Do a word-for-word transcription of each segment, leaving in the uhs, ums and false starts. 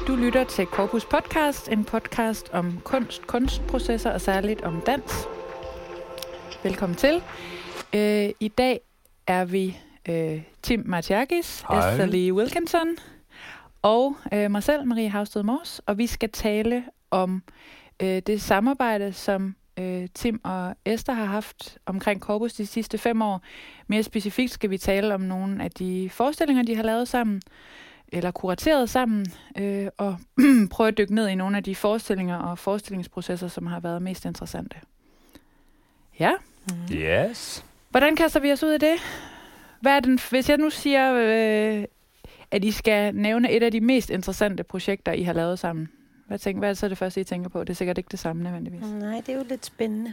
Du lytter til Corpus Podcast, en podcast om kunst, kunstprocesser og særligt om dans. Velkommen til. Øh, I dag er vi øh, Tim Martiakis, Esther Lee Wilkinson og øh, mig selv, Marie Havsted Mors, og vi skal tale om øh, det samarbejde, som øh, Tim og Esther har haft omkring Corpus de sidste fem år. Mere specifikt skal vi tale om nogle af de forestillinger, de har lavet sammen, eller kurateret sammen, øh, og prøve at dykke ned i nogle af de forestillinger og forestillingsprocesser, som har været mest interessante. Ja? Mm. Yes. Hvordan kaster vi os ud af det? Hvad er den, hvis jeg nu siger, øh, at I skal nævne et af de mest interessante projekter, I har lavet sammen. Hvad, tænker, hvad er det så det første, I tænker på? Det er sikkert ikke det samme nødvendigvis. Nej, det er jo lidt spændende.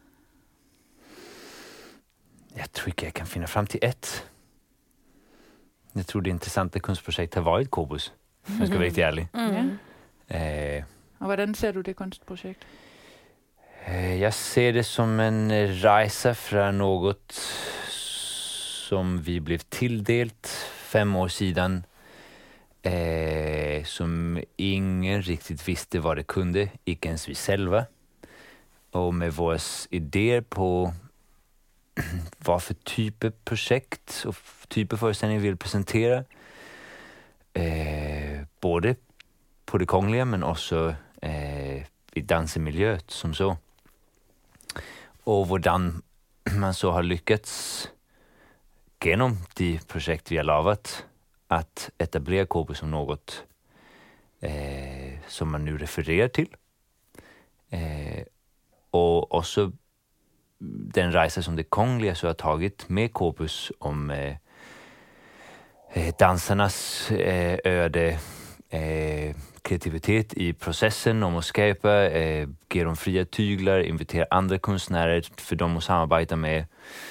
Jeg tror ikke, jeg kan finde frem til et. Jeg tror, det interessante kunstprojekt har været Corpus. Jeg skal være rigtig ærlig. Mm. Ja. Øh, og hvordan ser du det kunstprojekt? Øh, jeg ser det som en rejse fra noget, som vi blev tildelt fem år siden, øh, som ingen riktigt visste hvad det kunde, ikke ens vi själva. Og med vores idéer på vad för type projekt och type föreställning vi vill presentera. Eh, både på det kongelige, men også eh, i dansemiljøet som så. Og hvordan man så har lyckats genom de projekt vi har lavet at etablere Corpus som något eh, som man nu refererer til. Eh, og også den rejse som det kongelige så har tagit med Corpus om eh, dansarnas eh, öde, eh, kreativitet i processen, om att skapa, eh, ge dem fria tyglar, invitera andra konstnärer för dem att samarbeta med,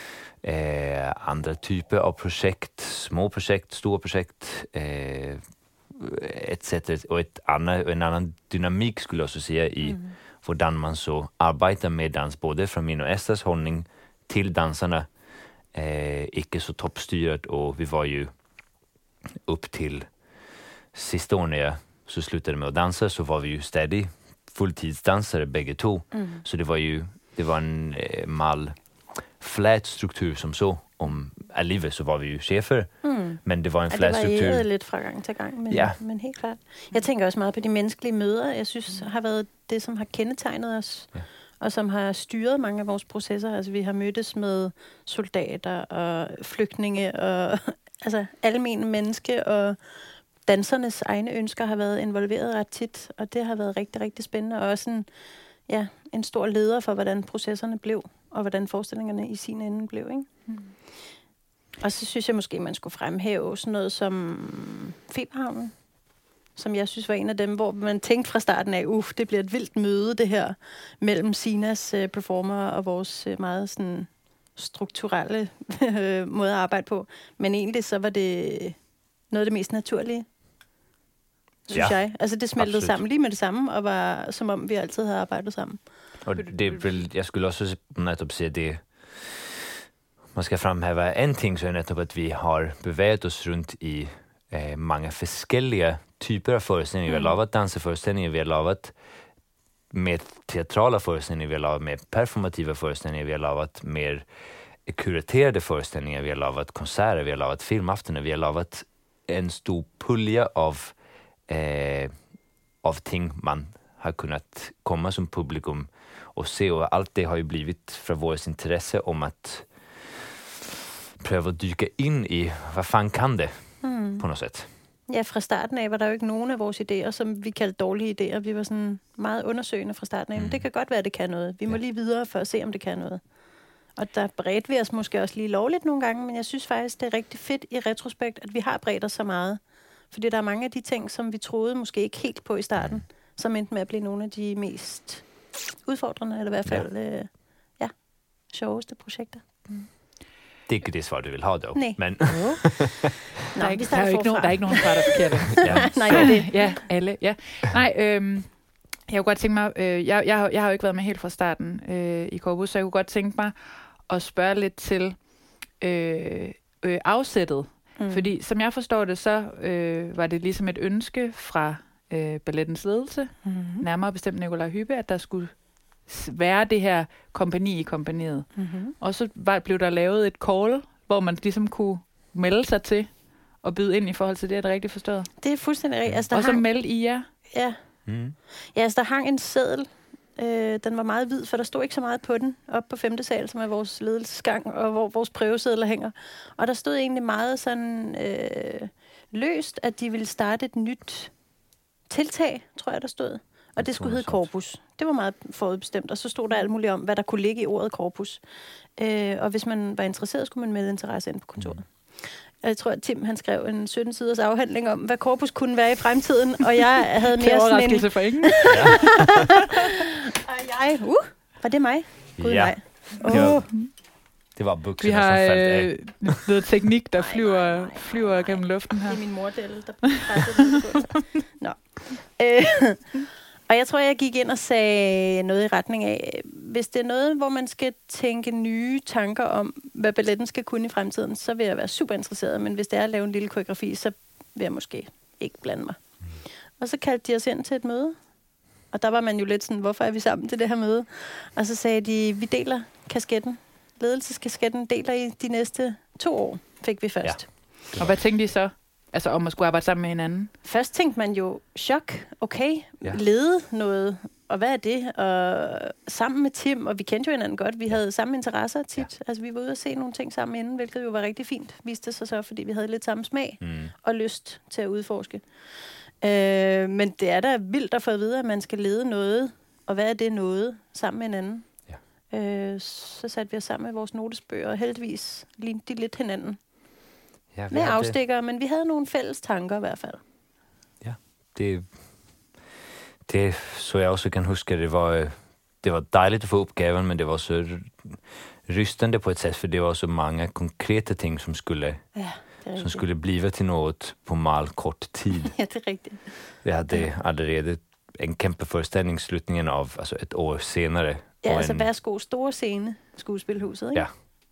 eh, andra typer av projekt, små projekt, stora projekt, eh, et cetera. Och ett annat, en annan dynamik skulle jag också säga i mm. hvordan man så arbejder med dans, både fra min og Esthers holdning til danserne, eh, ikke så toppstyret, og vi var jo upp til sidste år, når jeg så sluttede med at danse, så var vi jo stadig fuldtidsdansere begge to, mm. så det var jo det var en eh, mal flat struktur som så, om alligevel så var vi jo chefer, mm. men det var en ja, flat struktur. Det varierede lidt fra gang til gang, men, ja. men helt klart. Jeg tænker også meget på de menneskelige møder. Jeg synes, har været det, som har kendetegnet os, ja. Og som har styret mange af vores processer. Altså, vi har mødtes med soldater og flygtninge og altså almene menneske, og dansernes egne ønsker har været involveret ret tit, og det har været rigtig, rigtig spændende, og også en, ja, en stor leder for, hvordan processerne blev, og hvordan forestillingerne i sin ende blev, ikke? Mm. Og så synes jeg måske, man skulle fremhæve sådan noget som Feberhavnen, som jeg synes var en af dem, hvor man tænkte fra starten af, uff, det bliver et vildt møde, det her, mellem Sinas uh, performer og vores uh, meget sådan strukturelle måde at arbejde på. Men egentlig så var det noget af det mest naturlige, synes ja, jeg. Altså det smeltede absolut sammen lige med det samme, og var som om vi altid havde arbejdet sammen. Og det vil, jeg skulle også netop sige det, man skal fremhæve en ting, så er netop at vi har bevæget os rundt i eh, mange forskellige typer af forestillinger. Mm. Vi har lavet danseforestillinger, vi har lavet med teatrala forestillinger, vi har lavet med performativa forestillinger, vi har lavet mer kuraterade forestillinger, vi har lavet konserter, vi har lavet filmaftener, vi har lavet en stor pulje av, eh, av ting man har kunnat komma som publikum och se, och allt det har ju blivit från vårt intresse om att prøve at dykke ind i, hvad fan kan det, mm. på noget sæt. Ja, fra starten af var der jo ikke nogen af vores idéer, som vi kaldte dårlige idéer. Vi var sådan meget undersøgende fra starten af. Mm. Men det kan godt være, at det kan noget. Vi må ja. lige videre for at se, om det kan noget. Og der bredte vi os måske også lige lovligt nogle gange, men jeg synes faktisk, det er rigtig fedt i retrospekt, at vi har bredt os så meget. Fordi der er mange af de ting, som vi troede måske ikke helt på i starten, mm. som endte med at blive nogle af de mest udfordrende, eller i hvert fald ja. Øh, ja, sjoveste projekter. Mm. Det er ikke det svar, du vil have, dog. Nej. Men Nå, der, er ikke, der, er ikke nogen, der er ikke nogen svar, der er forkerte. ja. Nej, det ja, alle. Ja. Nej, øhm, jeg kunne godt tænke mig, øh, jeg, jeg, jeg har jo ikke været med helt fra starten øh, i Corpus, så jeg kunne godt tænke mig at spørge lidt til øh, øh, afsættet. Mm. Fordi som jeg forstår det, så øh, var det ligesom et ønske fra øh, ballettens ledelse, Mm-hmm. nærmere bestemt Nikolaj Hyppe, at der skulle være det her kompagni i kompagniet. Mm-hmm. Og så var, blev der lavet et call, hvor man ligesom kunne melde sig til og byde ind i forhold til det, er det rigtigt forstået? Det er fuldstændig rigtigt. Altså, der Og så hang, meldte I jer? ja. Mm. ja, altså der hang en seddel. Øh, den var meget hvid, for der stod ikke så meget på den, op på femte sal, som er vores ledelsesgang, og hvor vores prøvesedler hænger. Og der stod egentlig meget sådan øh, løst, at de ville starte et nyt tiltag, tror jeg, der stod. Og det skulle hedde Corpus. Det var meget forudbestemt, og så stod der alt muligt om, hvad der kunne ligge i ordet Corpus. Øh, og hvis man var interesseret, skulle man melde interesse ind på kontoret. Mm. Jeg tror, at Tim han skrev en sytten-siders afhandling om, hvad Corpus kunne være i fremtiden, og jeg havde mere sådan en... for ingen. Ja. og jeg... Uh, var det mig? Gud, Ja. nej. Det var, Åh. det var Vi bukserne, har som faldt af. øh, noget teknik, der Nej, flyver, nej, nej, nej, flyver nej. gennem luften her. Det er min mordel, der pressede den på sig. Nå. Øh, og jeg tror, jeg gik ind og sagde noget i retning af, hvis det er noget, hvor man skal tænke nye tanker om, hvad balletten skal kunne i fremtiden, så vil jeg være super interesseret. Men hvis det er at lave en lille koreografi, så vil jeg måske ikke blande mig. Mm. Og så kaldte de os ind til et møde. Og der var man jo lidt sådan, hvorfor er vi sammen til det her møde? Og så sagde de, vi deler kasketten. Ledelseskasketten deler i de næste to år, fik vi først. Ja. Og hvad tænkte I så? Altså om at skulle arbejde sammen med hinanden? Først tænkte man jo, chok, okay, Ja. lede noget, og hvad er det? Og sammen med Tim, og vi kendte jo hinanden godt, vi havde samme interesser tit. Ja. Altså vi var ude og se nogle ting sammen inden, hvilket jo var rigtig fint, viste sig så, fordi vi havde lidt samme smag Mm. og lyst til at udforske. Øh, men det er da vildt at få at vide, at man skal lede noget, og hvad er det noget, sammen med hinanden. Ja. Øh, så satte vi os sammen med vores notesbøger, og heldigvis lignede de lidt hinanden. Ja, vi Med hade- afstikkere, men vi havde nogle fælles tanker i hvert fald. Ja, det, det så jeg også kan huske, det var, øh, det var dejligt at få uppgaven, men det var så rystande på ett sätt, för det var så många konkreta ting som skulle, Ja, det er som rigtigt. skulle blive til noget på meget kort tid. Ja, det er rigtigt. Vi hade allerede en kæmpe forestilling slutningen av, altså et år senere. Ja, og altså en, værsgo, store scene, skuespilhuset, ikke? Ja.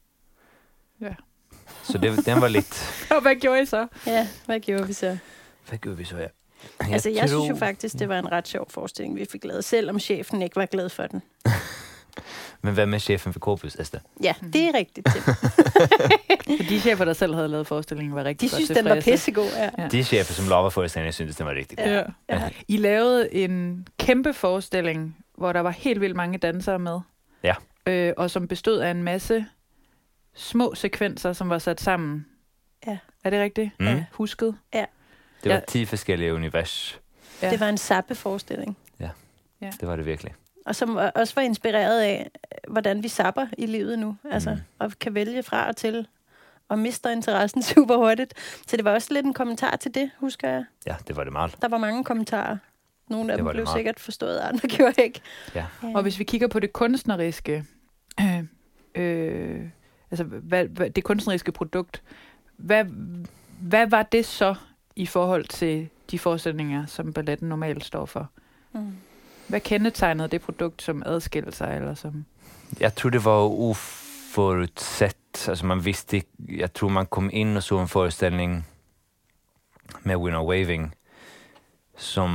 Ja. så det, den var lidt... Og hvad gjorde I så? Ja, hvad gjorde vi så? Hvad gjorde vi så, ja? Altså, jeg synes jo tror- faktisk, det var en ret sjov forestilling, vi fik lavet, selvom chefen ikke var glad for den. Men hvem er chefen for Corpus, Esther? Ja, det er rigtigt, Tim. For de chefer, der selv havde lavet forestillingen, var rigtig De godt synes, den var tilfredse. pissegod, ja. Ja. De chefer, som lover forestillingen, syntes, den var rigtig god. Ja. Ja. I lavede en kæmpe forestilling, hvor der var helt vildt mange dansere med. Ja. Øh, og som bestod af en masse små sekvenser, som var sat sammen. Ja. Er det rigtigt? Mm. Ja. Husket? Det var Ja. ti forskellige univers. Ja. Det var en sappe-forestilling. Det var det virkelig. Og som også var inspireret af, hvordan vi sapper i livet nu. Altså, Mm. og kan vælge fra og til, og mister interessen super hurtigt. Så det var også lidt en kommentar til det, husker jeg. Ja, det var det meget. Der var mange kommentarer. Nogle af Det dem var det blev meget. sikkert forstået, andre gjorde ikke. Ja. Og hvis vi kigger på det kunstneriske, øh, øh, altså hvad, hvad, det kunstneriske produkt, hvad, hvad var det så i forhold til de forestillinger, som balletten normalt står for? Mm. Hvad kendetegnede det produkt som adskilte sig, eller som... Jeg tror det var uforudsett. Altså man vidste ikke, jeg tror man kom ind og så en forestilling med Winner Waving, som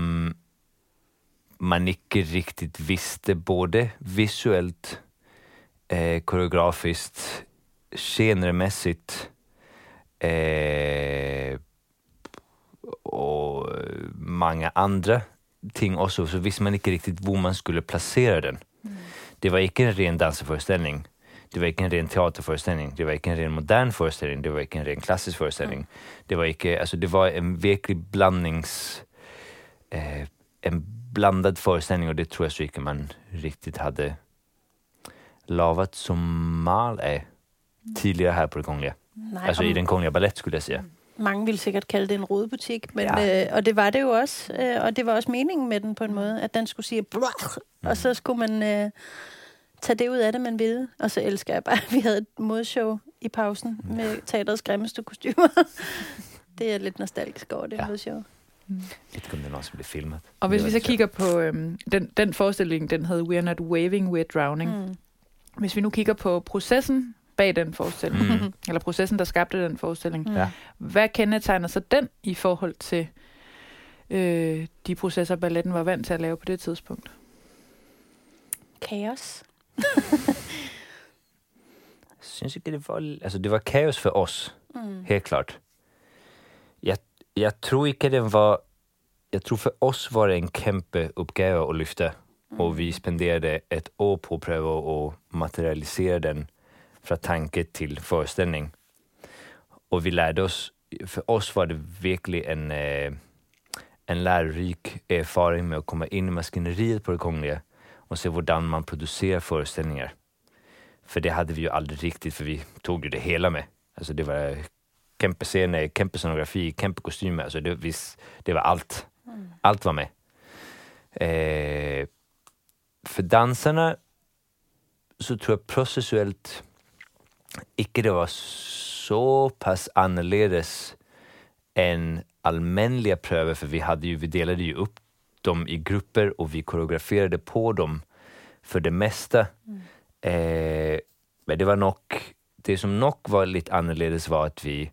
man ikke riktigt vidste, både visuelt, eh, koreografiskt, genremässigt eh, og mange andre ting også, så visste man ikke riktigt hvor man skulle placere den. Mm. Det var ikke en ren danseforestilling. Det var ikke en ren teaterforestilling. Det var ikke en ren modern forestilling. Det var ikke en ren klassisk forestilling. Mm. Det var ikke, altså det var en virkelig blandnings eh, en blandad forestilling, og det tror jeg så ikke man riktigt hade lavat som mal af tidigare här på det Kongliga. Nej, Altså og i den Kongliga Ballett, skulle jeg sige. mange ville sikkert kalde det en rodebutik, men, Ja. øh, og det var det jo også. Øh, og det var også meningen med den på en måde, at den skulle sige blach, Mm. og så skulle man øh, tage det ud af det, man ville. Og så elsker jeg bare, at vi havde et modshow i pausen med teaterets grimmeste kostymer. Det er lidt nostalgisk over det Ja. modshow. Jeg ved ikke, om det er noget, som blev filmet. Og hvis Det vi var så lidt kigger på øhm, den, den forestilling, den hed We're Not Waving, We're Drowning. Mm. Hvis vi nu kigger på processen bag den forestilling, Mm. eller processen, der skabte den forestilling, Mm. Ja. hvad kendetegner så den i forhold til øh, de processer, balletten var vant til at lave på det tidspunkt? Kaos. Jeg synes ikke, det var... Altså, det var kaos for os. Mm. Helt klart. Jeg, jeg tror ikke, det var... Jeg tror for os var det en kæmpe opgave at løfte. Mm. Og vi spenderede et år på at prøve at materialisere den fra tanke til forestilling. Og vi lærte os... For os var det virkelig en, eh, en lærerik erfaring med at komme ind i maskineriet på det kongelige og se, hvordan man producerer forestillinger. For det havde vi jo aldrig rigtigt, for vi tog jo det hele med. Altså det var kæmpe scene, kæmpe scenografi, kæmpe kostymer. Altså det, vis, det var alt. Mm. Alt var med. Eh, for danserne, så tror jeg processuelt ikke det var så pass annorledes än allmänliga pröver, för vi hade ju, vi delade ju upp dem i grupper och vi koreograferade på dem för det mesta. Mm. Eh, men det var nog, det som nog var lite annorledes var att vi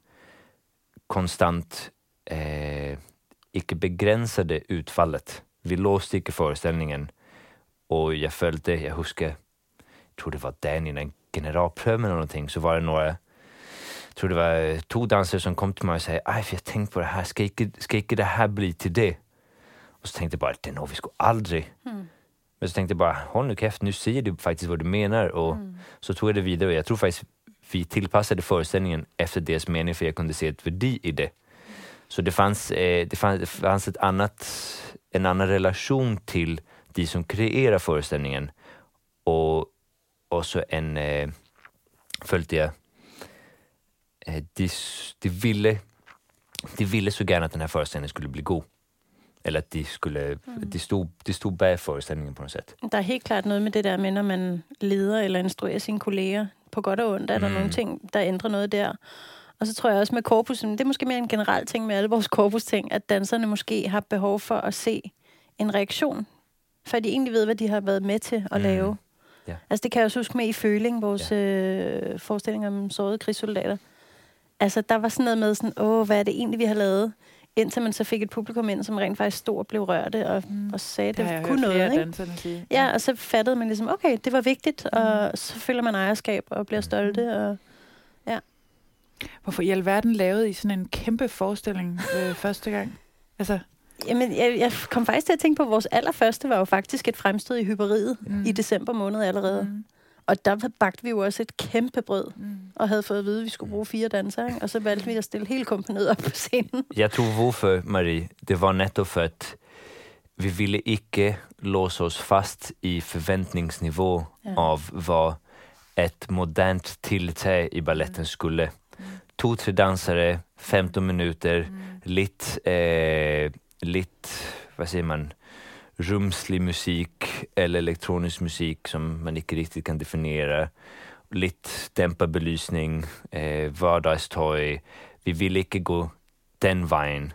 konstant eh, inte begränsade utfallet. Vi låste inte föreställningen och jag följde, jag huskar, jag tror det var den i en generalpröv eller någonting, så var det några, jag tror det var två dansare som kom till mig och sa, aj, för jag tänkte på det här, ska inte, ska inte det här bli till det? Och så tänkte jag bara, det är nog vi skulle aldrig. Mm. Men så tänkte jag bara, håll nu käft, nu säger du faktiskt vad du menar. Och mm. så tog jag det vidare och jag tror faktiskt vi tillpassade föreställningen efter deras mening, för jag kunde se ett värde i det. Så det fanns, eh, det fanns, det fanns ett annat, en annan relation till de som kreerar föreställningen. Och också en, eh, följde jag, eh, de, de, ville, de ville så gärna att den här föreställningen skulle bli god. Eller at de skulle, mm. de, stod, de stod bag forestillingen på noget sæt. Der er helt klart noget med det der med, når man leder eller instruerer sine kolleger på godt og ondt, er der mm. nogle ting, der ændrer noget der. Og så tror jeg også med korpusen, det er måske mere en generel ting med alle vores korpusting, at danserne måske har behov for at se en reaktion, for de egentlig ved, hvad de har været med til at mm. lave. Ja. Altså det kan jeg også huske med i Føling, vores ja. øh, forestilling om sårede krigssoldater. Altså der var sådan noget med sådan, åh, hvad er det egentlig, vi har lavet? Indtil man så fik et publikum ind, som rent faktisk stod og blev rørte, og, mm. og sagde, det, det kunne noget, ikke? Sige. Ja, og så fattede man ligesom, okay, det var vigtigt, mm. og så føler man ejerskab og bliver stolte, og ja. Hvorfor i alverden lavede I sådan en kæmpe forestilling øh, første gang? Altså... Jamen, jeg, jeg kom faktisk til at tænke på, at vores allerførste var jo faktisk et fremstød i Hyperiet mm. i december måned allerede. Mm. Og der bagte vi jo også et kæmpe brød, mm. og havde fået at vide, at vi skulle bruge fire dansere, ikke? Og så valgte vi at stille hele kompaniet op på scenen. Jeg tror, hvorfor, Marie, det var netop for, at vi ville ikke låse os fast i forventningsniveau ja. Av hvad et modernt tiltag i balletten skulle. Mm. To, tre dansere, femton minuter, mm. lidt, eh, lidt, hvad siger man, rumslig musik eller elektronisk musik som man ikke riktigt kan definiera. Lidt dämpad belysning, eh, vardagstøj. Vi vill ikke gå den vejen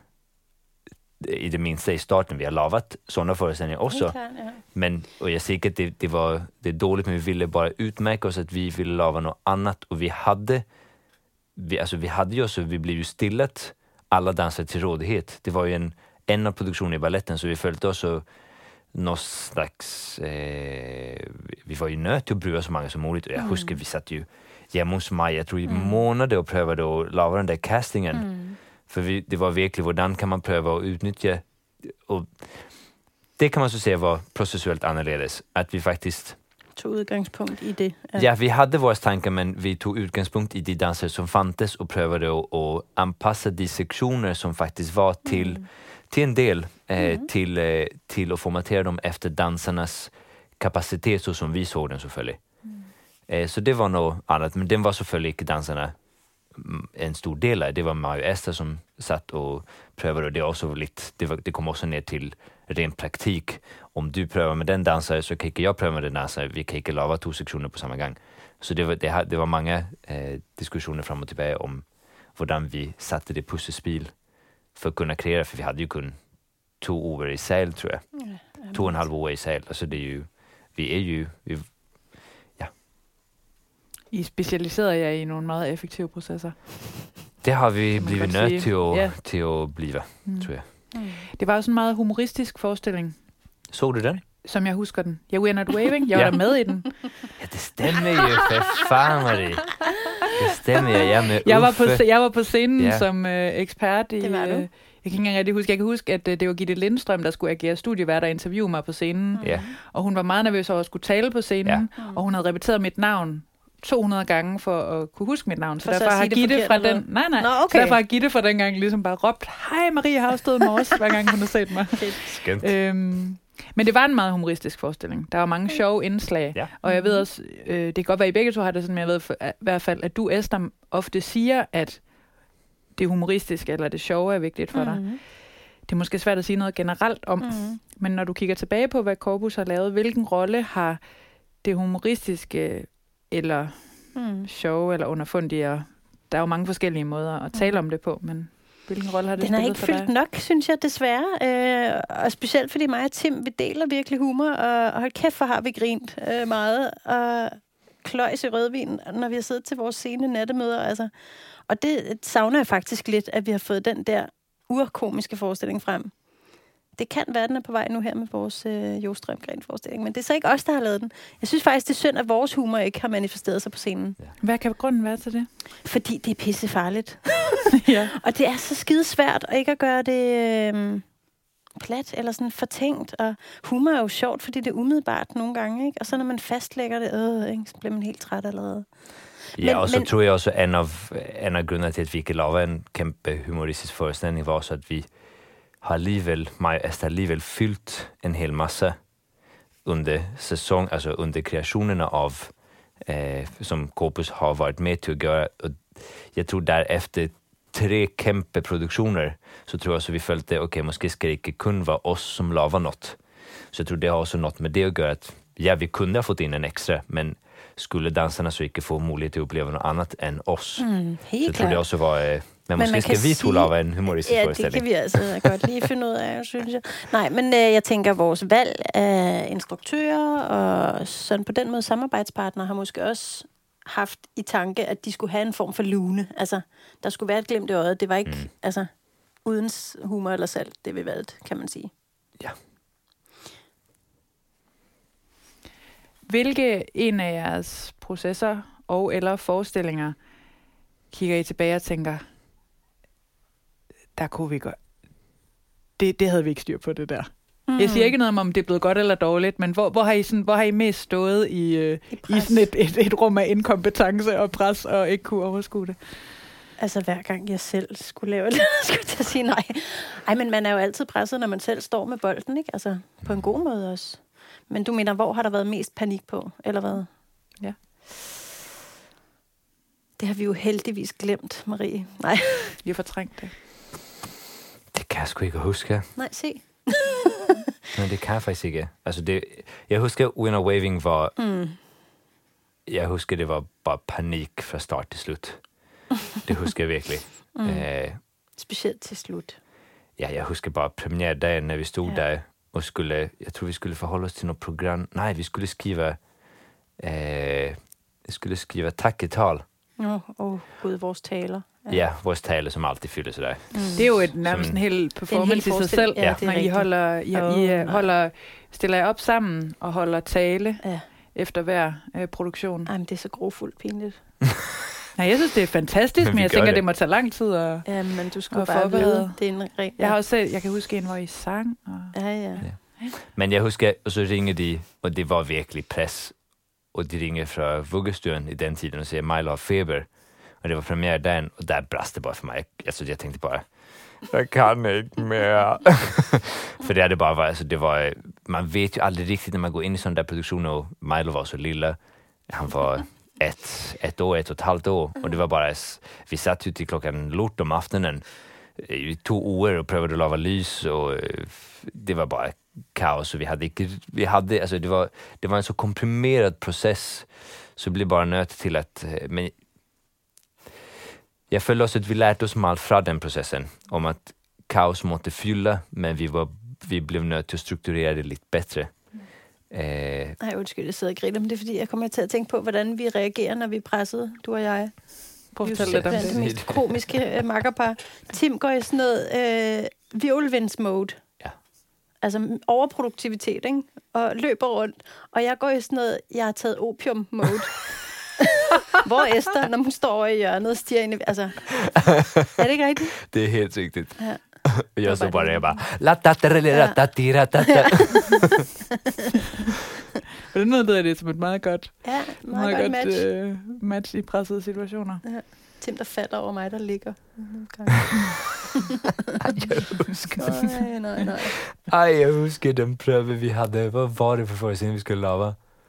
i det minste i starten. Vi har lavet sådana föreställningar också. Klar, ja. Men, och jag säger att det, det var det är dåligt, men vi ville bara utmärka oss att vi ville lava något annat. Och vi hade, vi, alltså vi hade ju så vi blev ju stillat alla dansare till rådighet. Det var ju en, en av produktionen i balletten, så vi följde oss och någon slags, eh, vi var ju nöt till att bruga så många som möjligt. Och jag mm. huskar, vi satt ju hemma hos mig, jag tror i mm. månader och prövade att lava den där castingen. Mm. För vi, det var verkligen, hvordan kan man pröva att utnyttja, och det kan man så säga var processuellt annorledes. Att vi faktiskt tog udgangspunkt i det. Ja, ja vi hade våra tankar, men vi tog utgangspunkt i de danser som fantes och prövade att, att anpassa de sektioner som faktiskt var till mm. till en del eh, mm. till, eh, till att formatera dem efter dansarnas kapacitet så som vi såg den selvfølgelig. Mm. Eh, så det var något annat, men den var selvfølgelig ikke dansarna en stor del av. Det var Mario Ester som satt och prövade, och det, också lite, det, var, det kom också ner till ren praktik. Om du prövar med den dansare så kan inte jag pröva med den dansare. Vi kan inte lava två sektioner på samma gång. Så det var, det, det var många eh, diskussioner fram och tillbaka om hvordan vi satte det pusselspil för att kunna kreera, för vi hade ju kun två år i säl, tror jag. Mm, två och en halv år i säl. Alltså det är ju, vi är ju, vi, ja. I specialiserer jer i nogle meget effektive processer. Det har vi blivit nødt til at, yeah. til at blive, mm. tror jeg. Mm. Det var også en meget humoristisk forestilling. Så du den? Som jeg husker den. Ja, We're Not Waving. Jeg var ja. der med i den. Ja, det stemmer jo, for fan, Marie. Det stemmer, jeg er med jeg var på, jeg var på scenen ja. som øh, ekspert i... Det var du. Øh, jeg kan ikke engang rigtig huske. Jeg kan huske, at øh, det var Gitte Lindstrøm, der skulle agere studievært og interviewe mig på scenen. Ja. Og hun var meget nervøs over at skulle tale på scenen. Ja. Og hun havde repeteret mit navn to hundrede gange for at kunne huske mit navn. Så, så derfor har Gitte fra den... Nej, nej. Nå, okay. Så derfor har Gitte fra den gang ligesom bare råbt, hej Marie Havsted Mors, hver gang hun har set mig. Skønt. Øhm, men det var en meget humoristisk forestilling. Der var mange sjove indslag. Ja. Og jeg ved også, øh, det kan godt være, I begge to har det sådan, men jeg ved for, at, i hvert fald, at du, Esther, ofte siger, at det humoristiske eller det sjove er vigtigt for dig. Mm-hmm. Det er måske svært at sige noget generelt om, mm-hmm. men når du kigger tilbage på, hvad Corpus har lavet, hvilken rolle har det humoristiske eller mm. sjove eller underfundige, og der er jo mange forskellige måder at tale mm. om det på, men hvilken rolle har det Den spillet for dig? Den har ikke fyldt nok, synes jeg, desværre. Øh, og specielt fordi mig og Tim, vi deler virkelig humor, og, og hold kæft, for har vi grint øh, meget, og kløjs i rødvin, når vi har siddet til vores sene nattemøder. Altså. Og det savner jeg faktisk lidt, at vi har fået den der urkomiske forestilling frem. Det kan være, den er på vej nu her med vores øh, Jostrøm-Gren-forestilling, men det er så ikke os, der har lavet den. Jeg synes faktisk, det er synd, at vores humor ikke har manifesteret sig på scenen. Ja. Hvad kan grunden være til det? Fordi det er pissefarligt. Ja. Og det er så skide svært at ikke at gøre det øh, plat eller sådan fortænkt. Og humor er jo sjovt, fordi det er umiddelbart nogle gange, ikke? Og så når man fastlægger det, øh, ikke, så bliver man helt træt allerede. Ja, men, og så men, tror jeg også, at en af, en af grundene til, at vi ikke lavede en kæmpe humoristisk forestilling, var også, at vi har alligevel, mig og Esther alligevel fyldt en hel masse under säsong, alltså under kreationerna av eh, som Corpus har varit med till att göra. Och jag tror där efter tre kæmpe produktioner så tror jag så vi följde, okej, okay, måske ska det inte kun vara oss som lavar något. Så jag tror det har också något med det att göra att ja, vi kunde ha fått in en extra, men skulle dansarna så ikke få mulighed til at uppleva något annat än oss. Mm, så jeg tror det også var... Eh, men, men måske skal vi to lave en humoristisk ja, forestilling. Ja, det kan vi altså godt lige finde ud af, synes jeg. Nej, men øh, jeg tænker, at vores valg af instruktører og sådan på den måde samarbejdspartnere har måske også haft i tanke, at de skulle have en form for lune. Altså, der skulle være et glimt i øjet. Det var ikke mm. altså, uden humor eller salt, det vi valgte, kan man sige. Ja. Hvilke en af jeres processer og eller forestillinger kigger I tilbage og tænker, der kunne vi godt... Det, det havde vi ikke styr på, det der. Mm. Jeg siger ikke noget om, om det er blevet godt eller dårligt, men hvor, hvor, har, I sådan, hvor har I mest stået i, øh, I, i sådan et, et, et rum af inkompetence og pres og ikke kunne overskue det? Altså hver gang jeg selv skulle lave det, skulle jeg til at sige nej. Ej, men man er jo altid presset, når man selv står med bolden, ikke? Altså på en god måde også. Men du mener, hvor har der været mest panik på, eller hvad? Ja. Det har vi jo heldigvis glemt, Marie. Nej. Vi har fortrængt det. Det kan jeg sgu ikke huske. Nej, se. Nej, det kan jeg faktisk ikke. Altså det, jeg husker, We're Not Waving var... Mm. Jeg husker, det var bare panik fra start til slut. Det husker jeg virkelig. Mm. Uh, Specielt til slut. Ja, jeg husker bare premiärdagen, når vi stod ja. der og skulle... Jeg tror, vi skulle forholde os til noget program. Nej, vi skulle skrive... Uh, vi skulle skrive takketal. Åh, oh, oh, gud, vores taler. Ja. ja, vores tale, som altid fylder sig der. Mm. Det er jo et, nærmest en hel performance i sig selv, ja, når I holder, I, oh, I holder, stiller jer op sammen og holder tale ja. efter hver øh, produktion. Ej, men det er så grofuldt pinligt. Nej, jeg synes, det er fantastisk, men, men jeg tænker, det. det må tage lang tid at ja, men du skal bare vide. Det er en ren, jeg har også set, jeg kan huske en, hvor I sang. Og... Ja, ja, ja. Men jeg husker, og så ringede de, og det var virkelig pres. Og de ringede fra vuggestuen i den tiden og siger, Milo har feber. Och det var premiärdagen och där brast det bara för mig. Alltså jag tänkte bara, jag kan inte mer. För det hade bara varit, alltså det var, man vet ju aldrig riktigt när man går in i sån där produktion och Milo var så lilla. Han var ett, ett år, ett och ett halvt år. Och det var bara, vi satt ju till klockan lort om aftonen i två år och prövade att lava lys och det var bara kaos och vi hade inte, vi hade, alltså det var, det var en så komprimerad process så det blev bara nöt till att, men jag følte også, at vi lærte oss meget fra den processen, om at kaos måtte fylle, men vi, var, vi blev nødt til at strukturere det lidt bedre. Mm. Øh, Ej, undskyld, jeg sidder og griner, men det er fordi, jeg kommer til at tænke på, hvordan vi reagerer, når vi er presset, du og jeg. Prøv at fortælle lidt om det. Det mest komiske uh, makkerpar. Tim går i sådan noget, øh, virvelvinds-mode. Ja. Altså overproduktivitet, ikke? Og løber rundt. Og jeg går i sådan noget, jeg har taget opium-mode. Hvor Esther, når hun står over i hjørnet og stiger ind i... Altså, er det ikke rigtigt? Det är helt riktigt. Ja. Jag så bara, jag bara... La-ta-ta-ra-la-ta-ti-ra-ta-ta. På den måde lyder det som et meget godt, Ja, meget, meget godt, godt match. øh, match i pressede situationer. Ja. Tim, der falder over mig, der ligger. Jag huskar. Nej, nej, nej. Ej, jag huskar den prøve vi hade. Vad var det för föreställning vi skulle lava?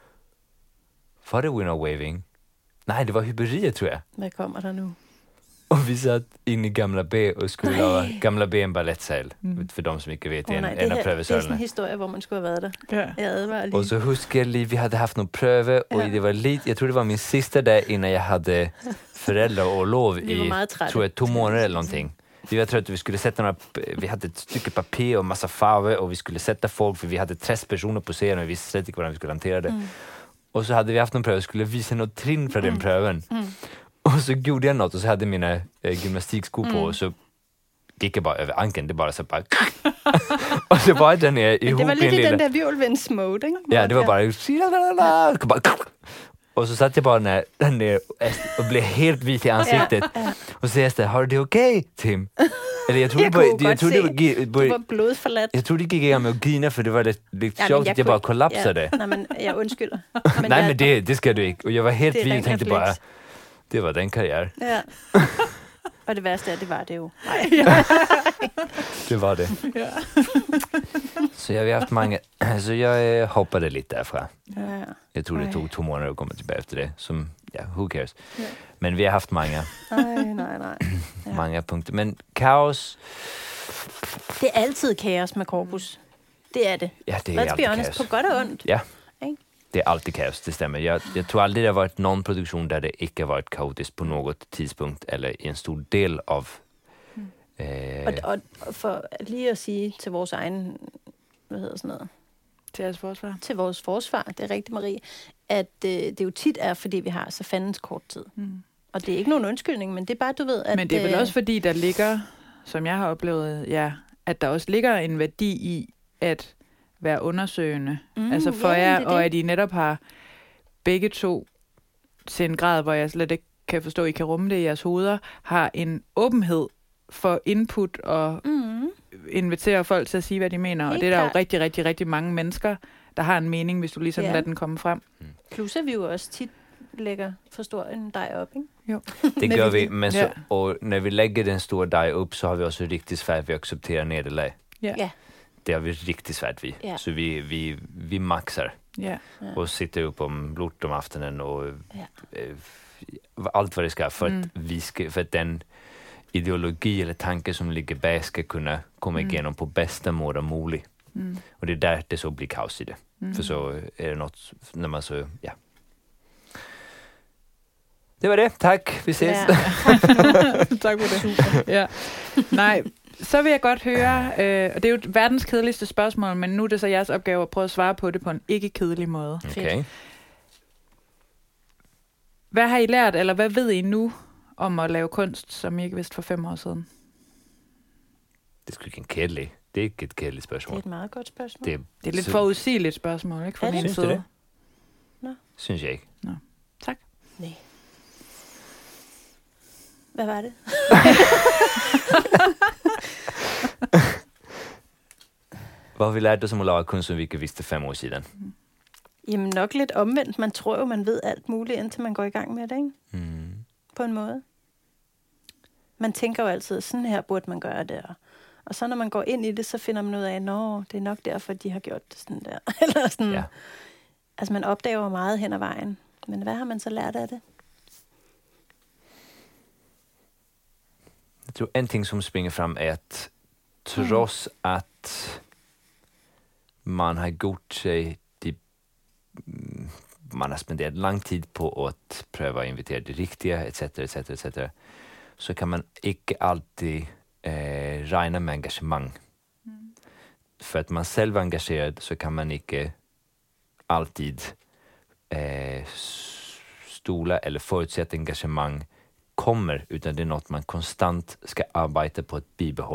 Var det Winner Waving? Nej, det var hyperiet, tror jag. Hvad kommer der nu? Och vi satt in i Gamla B och skulle lava Gamla B en ballettsäl. Mm. För de som inte vet, Oh, en, nej, en det, av her, det er sådan en prøvesølene. historie, hvor man skulle have været der. Ja. Jeg advarer lige. Och så huskar jag, vi hade haft någon pröve och Ja. det var lite, jag tror det var min sista dag innan jag hade föräldrar och lov Vi var i, meget trætte. tror jag, två månader eller någonting. Vi var trötta, vi skulle sätta några, vi hade ett stycke papper och massa farver och vi skulle sätta folk för vi hade trettio personer på scenen och vi visste inte hur vi skulle hantera det. Mm. Och så hade vi haft någon pröv och skulle visa något trin från den Mm. pröven. Mm. Och så gjorde jag något och så hade mina äh, gymnastikskor på Mm. och så gick jag bara över ankeln, det bara så bara... och så var den ner ihop Det var i en lidt i lilla... den der virvelvinds-mode, ikke? Ja, det var Hvor- bara... Och så satt jag bara ner, där ner och blev helt vit i ansiktet. Ja, ja. Och så säger jag, har du det okej, Tim? Eller jag tror Jag det började, kunne jag godt tror det var, se. gi- Du började, var blodforladt. jag tror det gick igång med att grina för det var lite, lite Ja, men tjockt jeg att jag kunne bara ikke- kollapsade. Ja, nej, men jeg undskylder. Men Nej jeg, men det, det ska du inte. Och jag var helt Det är vit och ren tänkte reflex. bara, det var den karriär. Ja. Og det værste er, det var det jo. Nej. Det var det. Ja. Så jag har haft många, så jag eh, hoppade lite därifrån. Ja. Jag tror det Oj. tog två månader att komma tillbaka efter det. Som, ja, who cares. Ja. Men vi har haft många, Nej, nej, nej. Ja. många punkter. Men kaos, Det er altid kaos med korpus. Det er det. ja det är Let's be alltid honest, kaos. på godt og ondt. Ja, Ikke? det är alltid kaos, det stämmer. Jag, jag tror aldrig det har varit någon produktion där det inte har varit kaotiskt på något tidspunkt eller i en stor del av... Eh, Og, og, og for lige at sige til vores egen, hvad hedder sådan noget, Til jeres forsvar. til vores forsvar, det er rigtigt, Marie, at øh, det jo tit er, fordi vi har så fandens kort tid. Mm. Og det er ikke nogen undskyldning, men det er bare, du ved, at... Men det er vel øh, også fordi, der ligger, som jeg har oplevet, ja, at der også ligger en værdi i at være undersøgende. Mm, altså for ja, jer, det er og det. at I netop har begge to til en grad, hvor jeg slet ikke kan forstå, at I kan rumme det i jeres hoveder, har en åbenhed for input og Mm, invitere folk til at sige, hvad de mener. Helt og det er der jo klart. rigtig, rigtig, rigtig mange mennesker, der har en mening, hvis du ligesom Ja. lader den komme frem. plus at vi jo også tit lægger for stor en dej op, ikke? det Men gör vi- vi, men så, Ja. och när vi lägger den stora dag upp så har vi också riktigt svårt att acceptera nederlag. Ja. Ja. Det har vi riktigt svårt vid. Ja. Så vi, vi, vi maxar Ja. Ja. och sitter upp om lort om aftonen och Ja. eh, allt vad det ska för att, Mm. vi ska, för att den ideologi eller tanke som ligger bag ska kunna komma Mm. igenom på bästa måte möjligt. Mm. Och det är där det så blir kaos i det. Mm. För så är det något, när man så, ja. Det var det, tack, vi ses. Ja. Tak for det. Ja. Nej, så vil jeg godt høre, øh, og det er jo verdens kedeligste spørgsmål, men nu er det så jeres opgave at prøve at svare på det på en ikke kedelig måde. Okej. Hvad har I lært, eller hvad ved I nu om at lave kunst, som I ikke vidste for fem år siden? Det skulle ikke en kedelig. Det er ikke et kedeligt Det spørgsmål. er et meget godt spørgsmål. Det, Det er lidt så- forudsigeligt spørgsmål, ikke? Fra Er det? min Synes du side. det? Nå. synes jeg ikke. Tak. Nej. Hvad var det? Hvad har vi lært os om at lave kunst, som vi ikke vidste fem år siden? Jamen nok lidt omvendt. Man tror jo, man ved alt muligt, indtil man går i gang med det, ikke? Mm. På en måde. Man tænker jo altid, sådan her burde man gøre det. Og, og så når man går ind i det, så finder man ud af, nå, det er nok derfor, de har gjort det sådan der. Eller sådan. Ja. Altså man opdager jo meget hen ad vejen. Men hvad har man så lært af det? Jeg tror en ting som springer frem er at trods at man har gjort sig de, mm, man har spenderat lang tid på att pröva att invitera det riktiga etc etc etc så kan man ikke alltid eh, regna med engagemang. Mm. För att man själv är engagerad så kan man ikke alltid eh, s- stola eller förutsätta engagemang kommer, utan det är något man konstant ska arbeta på att bibehålla.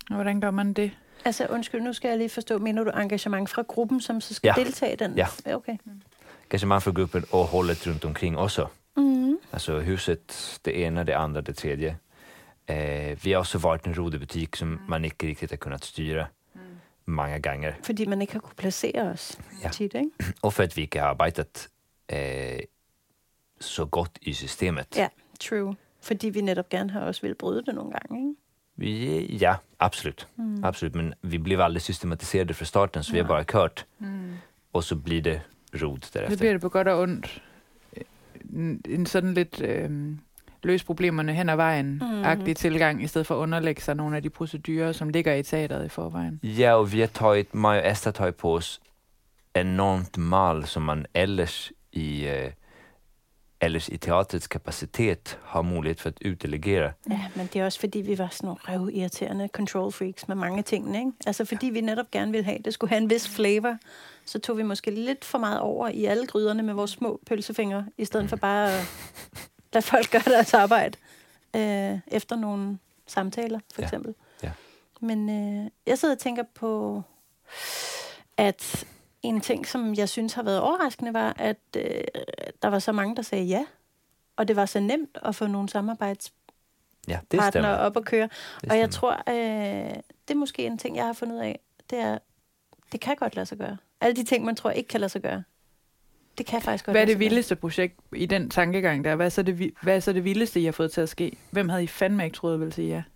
Og hvordan gør man det? Altså, undskyld, nu skal jeg lige forstå, mener du engagement fra gruppen, som så skal Ja. deltage i den? Ja. Okay. Engagemang för gruppen och hållet runt omkring också. Mm. Alltså huset, det ena, det andra, det tredje. Eh, vi har också varit en rodebutik som man inte riktigt har kunnat styra mm. många gånger. Fordi man ikke har kunne placere os Ja. tit, ikke? Och för att vi inte har arbetat eh, så godt i systemet. Ja, true. Fordi vi netop gerne har også vil bryde det nogle gange, ikke? Vi, ja, absolut. Mm. absolut. Men vi blev aldrig systematiserade från starten, så vi har bara kört. Mm. Och så blir det rod Så därefter. bliver det på godt og ondt. En, en sådan lidt øh, løs problemerne hen ad vejen-agtig Mhm. tilgang, i stedet for at underlægge sig nogle af de procedurer, som ligger i teateret i forvejen. Ja, och vi har tagit, Maja och Esther har tagit på oss enormt mal som man ellers i, eh, ellers i teatrets kapacitet har mulighed for at utdelegere. Ja, men det er også fordi, vi var sådan nogle røvirriterende control freaks med mange tingene, ikke? Altså fordi vi netop gerne ville have, det skulle have en vis flavor, så tog vi måske lidt for meget over i alle gryderne med vores små pølsefingre, i stedet for bare at lade folk gøre deres arbejde øh, efter nogle samtaler, for Ja. eksempel. Ja. Men øh, jeg sidder og tænker på, at en ting, som jeg synes har været overraskende, var, at øh, der var så mange, der sagde ja. Og det var så nemt at få nogle samarbejdspartnere Ja, det stämmer. op at køre. Det Og jeg stämmer. tror, øh, det er måske en ting, jeg har fundet ud af, det er, det kan godt lade sig gøre. Alle de ting, man tror ikke kan lade sig gøre, det kan faktisk godt Hvad er lade det sig gøre. vildeste projekt i den tankegang der? Hvad er så det, vi- hvad er så det vildeste, I har fået til at ske? Hvem havde I fandme ikke troet ville sige ja?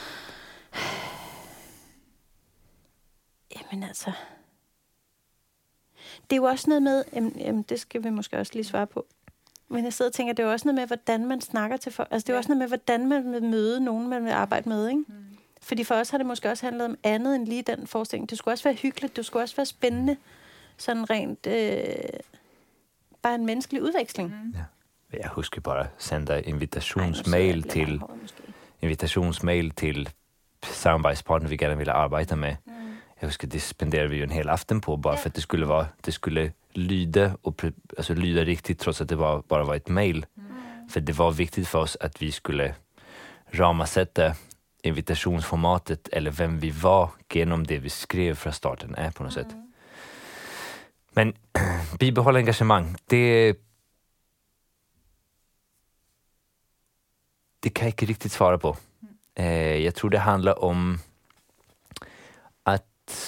Jamen altså... Det er jo også noget med... Jamen, jamen, det skal vi måske også lige svare på. Men jeg sidder og tænker, det er jo også noget med, hvordan man snakker til folk. Altså, det er jo Ja. også noget med, hvordan man vil møde nogen, man vil arbejde med, ikke? Mm. Fordi for os har det måske også handlet om andet end lige den forestilling. Det skulle også være hyggeligt, det skulle også være spændende. Sådan rent... Øh, bare en menneskelig udveksling. Mm. Jeg husker bare sende invitationsmail til invitationsmail til samarbejdspartner vi gerne ville arbejde med. Mm. Jeg husker, det spenderede vi jo en hel aften på, bare ja. for at det skulle, være, det skulle lyde, og pre, altså lyde rigtigt, trods at det var, bare var et mail. Mm. For det var vigtigt for os, at vi skulle ramasætte invitationsformatet, eller hvem vi var, gennem det vi skrev fra starten af på noget mm. sæt. Men bibeholde engagement, det det kan jeg ikke riktigt svare på. Mm. Uh, jeg tror, det handler om at,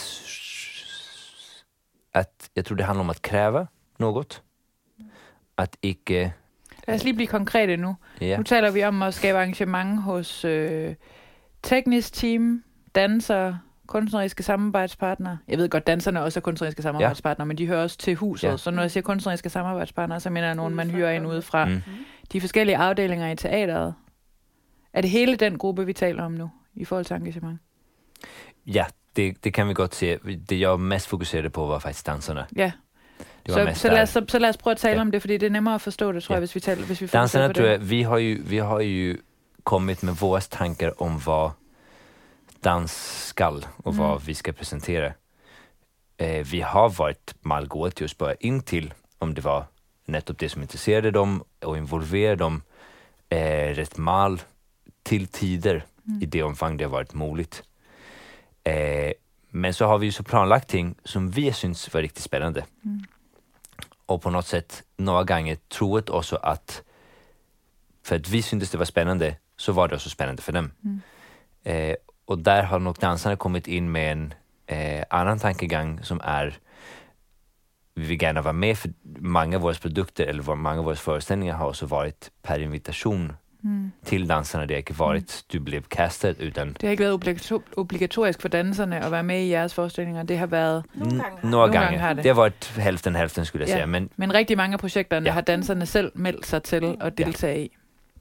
at jeg tror, det handler om at kræve noget. Mm. At ikke... Lad os lige blive konkrete nu. Ja. Nu taler vi om at skabe arrangement hos øh, teknisk team, dansere, kunstneriske samarbejdspartnere. Jeg ved godt, danserne også er kunstneriske samarbejdspartnere, ja. Men de hører også til huset. Ja. Så når jeg siger kunstneriske samarbejdspartnere, så mener jeg nogen, man hyrer ind udefra. Mm. De forskellige afdelinger i teateret. Er det hele den gruppe, vi taler om nu, i forhold til engagement? Ja, det, det kan vi godt se. Det jeg mest fokuserede på var faktisk danserne. Ja. Det var så, så, lad os, så, så lad os prøve at tale ja. om det, fordi det er nemmere at forstå det, tror ja. jeg, hvis vi taler, hvis vi danserne, på tror det. jeg, vi har ju, vi har ju kommit med våra tankar om vad dans skall och mm. vad vi ska presentera. Eh, vi har varit malgående till att spöra in till om det var nettopp det som intresserade dem och involverade dem eh, rätt mal till tider mm. i det omfang det har varit möjligt. Eh, men så har vi ju så planlagt ting som vi syns var riktigt spännande. Mm. Och på något sätt några gånger troet också att för att vi syntes det var spännande så var det också spännande för dem. Mm. Eh, och där har nog dansarna kommit in med en eh, annan tankegång som är vi vill gärna vara med för många av våra produkter eller många av våra föreställningar har också varit per invitation mm. till dansarna. Det har ikke varit mm. du blev castet utan... Det har ikke været obligator- obligatorisk for danserne at være med i jeres forestillinger. Det har været... Nogle gange har, Nogle gange. gange har det. Det har varit hälften hälften skulle jeg ja. sige. Men, men rigtig mange af projekterne ja. har danserne selv meldt sig til at deltage ja. i.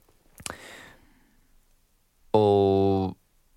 Og...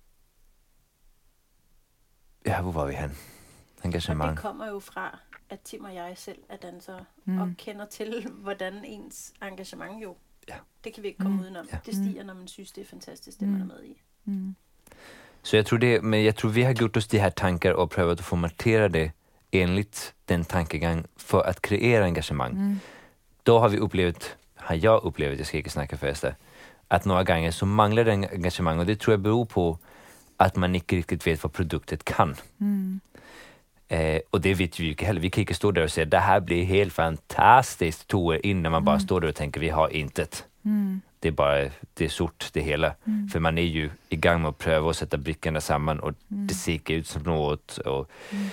Ja, hvor var vi hen? Engagement. Og det kommer jo fra, at Tim og jeg selv er dansere, mm. og kender til, hvordan ens engagement jo, ja. det kan vi ikke komme mm. udenom. Ja. Det stiger, når man synes, det er fantastisk, det mm. man er med i. Mm. Så jag tror det, men jag tror vi har gjort oss de här tankar och prövat att formatera det enligt den tankegång för att kreera engagemang. Mm. Då har vi upplevt, har jag upplevt, jag ska inte snacka för det, att några gånger så manglar det engagemang och det tror jag beror på att man inte riktigt vet vad produktet kan. Mm. Eh, och det vet vi ju inte heller. Vi kan inte stå där och säga det här blir helt fantastiskt två år innan man mm. bara står där och tänker vi har intet. Mm. Det är bara, det är sort det hela. Mm. För man är ju i gang med att pröva och sätta brickorna samman och mm. det ser ut som något. Och, mm.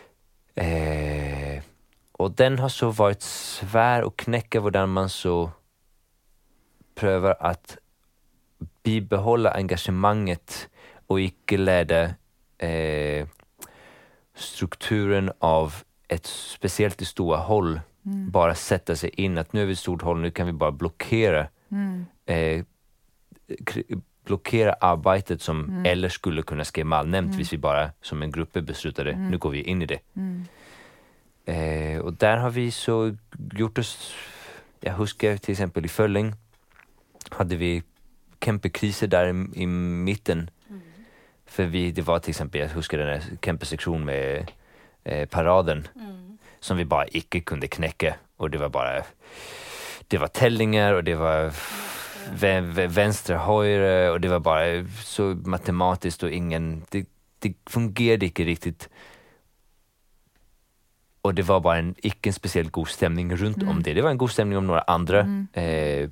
eh, och den har så varit svår att knäcka hur man så prövar att bibehålla engagemanget och icke lära eh, strukturen av ett speciellt stora håll mm. bara sätta sig in att nu är vi ett stort håll, nu kan vi bara blockera mm. eh, k- blockera arbetet som mm. eller skulle kunna ske malnämnt mm. hvis vi bara som en grupp beslutade, mm. nu går vi in i det. Mm. Eh, och där har vi så gjort oss, jag huskar till exempel i Fölling hade vi kämpekriser där i, i mitten. Mm. För vi, det var till exempel, jag huskar den här kämpesektion med eh, paraden mm. som vi bara icke kunde knäcka. Och det var bara, det var tällingar och det var v- v- vänster, höger och det var bara så matematiskt och ingen, det, det fungerade inte riktigt. Och det var bara en icke en speciellt god stämning runt mm. om det. Det var en god stämning om några andra mm. eh,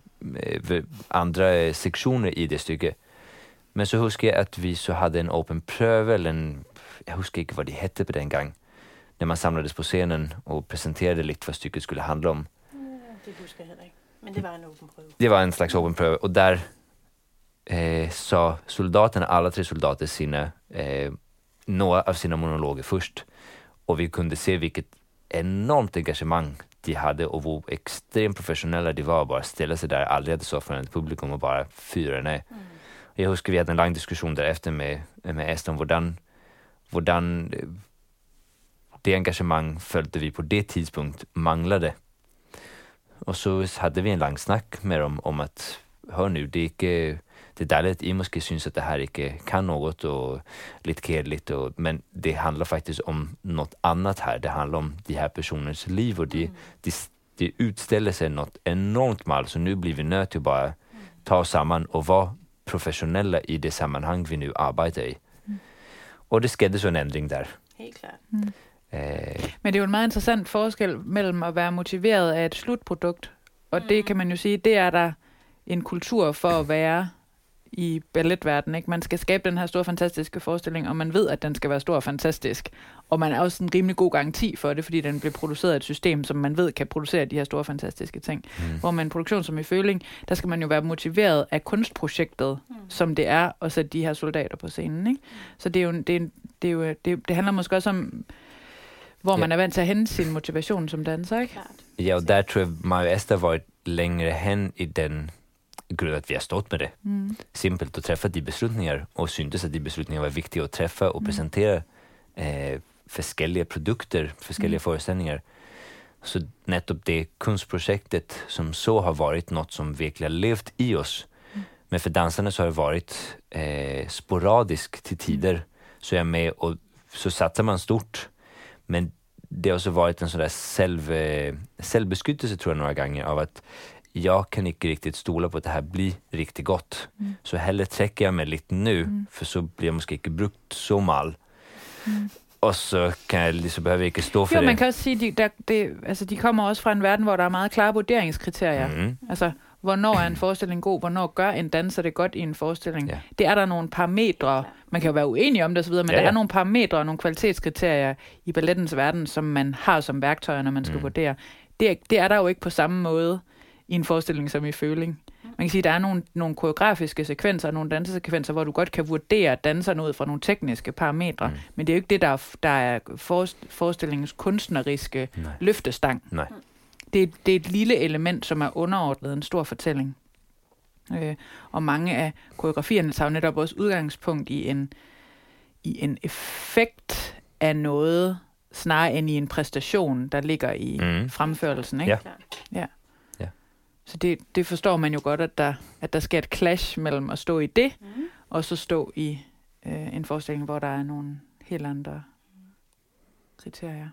andra sektioner i det stycket. Men så huskar jag att vi så hade en open pröv eller en, jag huskar inte vad det hette på den gång. När man samlades på scenen och presenterade lite vad stycket skulle handla om. Mm, det huskar jag inte. Men det var en open pröv. Det var en slags open pröv och där eh, sa soldaterna, alla tre soldater sina eh, några av sina monologer först. Och vi kunde se vilket enormt engagemang de hade och hur extremt professionella de var. Bara ställa sig där, aldrig hade så för ett publikum och bara fyra nej. Mm. Jag huskar vi hade en lång diskussion därefter med, med Esther om hvordan, hvordan det engagemang följde vi på det tidspunkt manglade. Och så hade vi en lång snack med dem om att hör nu, det är inte, det är därligt I måste syns att det här inte kan något och lite kedligt och, men det handlar faktiskt om något annat här. Det handlar om de här personers liv och de, mm. de, de utställer sig något enormt mal, så nu blir vi nöjda till att bara ta oss samman och vara professionella i det sammanhang vi nu arbetar i. Mm. Och det skedde så en ändring där. Helt klart. Mm. Eh. Men det er jo en meget interessant forskel mellem at være motiveret af et slutprodukt, og mm. det kan man jo sige, det er der en kultur for at være i balletverdenen, ikke? Man skal skabe den her store, fantastiske forestilling, og man ved, at den skal være stor og fantastisk. Og man er også en rimelig god garanti for det, fordi den bliver produceret af et system, som man ved kan producere de her store, fantastiske ting. Mm. Hvor med en produktion som i Føling, der skal man jo være motiveret af kunstprojektet, mm. som det er, at sætte de her soldater på scenen, ikke? Så det er jo, det, er, det, er jo, det, det handler måske også om, hvor ja. man er vant til at hente sin motivation som danser, ikke? Ja, og der tror jeg, Maja Esther var længere hen i den grund att vi har stått med det. Mm. Simpelt att träffa de beslutningar och syntes att de beslutningar var viktiga att träffa och mm. presentera eh, förskelliga produkter, förskelliga mm. föreställningar. Så nettopp det kunstprojektet som så har varit något som verkligen har levt i oss. Mm. Men för dansarna så har det varit eh, sporadisk till tider. Mm. Så är jag med och så satsar man stort. Men det har också varit en sån där själv, eh, självbeskyttelse tror jag några gånger av att jag kan inte riktigt stola på att det här blir riktigt gott. Mm. Så hellre träcker jag mig lite nu, mm. för så blir jag måske inte brukt så mal. Mm. Og så kan jeg lige så behøver ikke stå for jo, det. Jo, man kan også sige, de, der, det, altså, de kommer også fra en verden, hvor der er meget klare vurderingskriterier. Mm. Altså, hvornår er en forestilling god? Hvornår gør en danser det godt i en forestilling? Ja. Det er der nogle parametre. Man kan jo være uenig om det osv., men ja, ja. der er nogle parametre og nogle kvalitetskriterier i ballettens verden, som man har som værktøjer, når man skal mm. vurdere. Det er, det er der jo ikke på samme måde i en forestilling som i Føling. Man kan sige, at der er nogle, nogle koreografiske sekvenser, nogle dansesekvenser, hvor du godt kan vurdere danserne ud fra nogle tekniske parametre, mm. men det er jo ikke det, der er, der er forestillingens kunstneriske Nej. løftestang. Nej. Det, det er et lille element, som er underordnet en stor fortælling. Øh, og mange af koreografierne tager jo netop også udgangspunkt i en, i en effekt af noget, snarere end i en præstation, der ligger i mm. fremførelsen. Ikke? Ja. Ja. Så det, det forstår man jo godt, at der, at der sker et clash mellem at stå i det, mm. og så stå i øh, en forestilling, hvor der er nogle helt andre kriterier.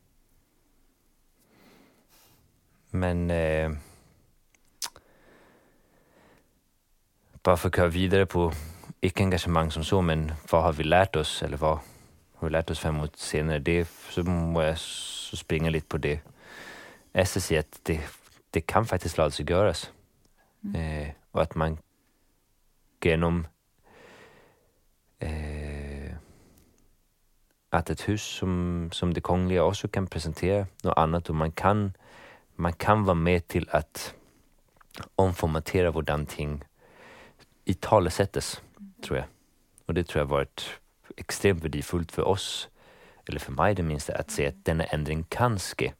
Men øh, bare for at køre videre på ikke engagemang som så, men hvad har vi lært os, eller hvad har vi lært os frem mod senere, det, så må jeg så springe lidt på det. Jeg skal sige, at det, det kan faktisk lade sig gøres. Mm. Øh, og at man gennem øh, at et hus som, som det kongelige også kan præsentere noget andet, og man kan, man kan være med til at omformatere, hvordan ting i tale sættes, tror jeg. Og det tror jeg har været ekstremt værdifuldt for os, eller for mig det mindste, at se, at denne ændring kan ske.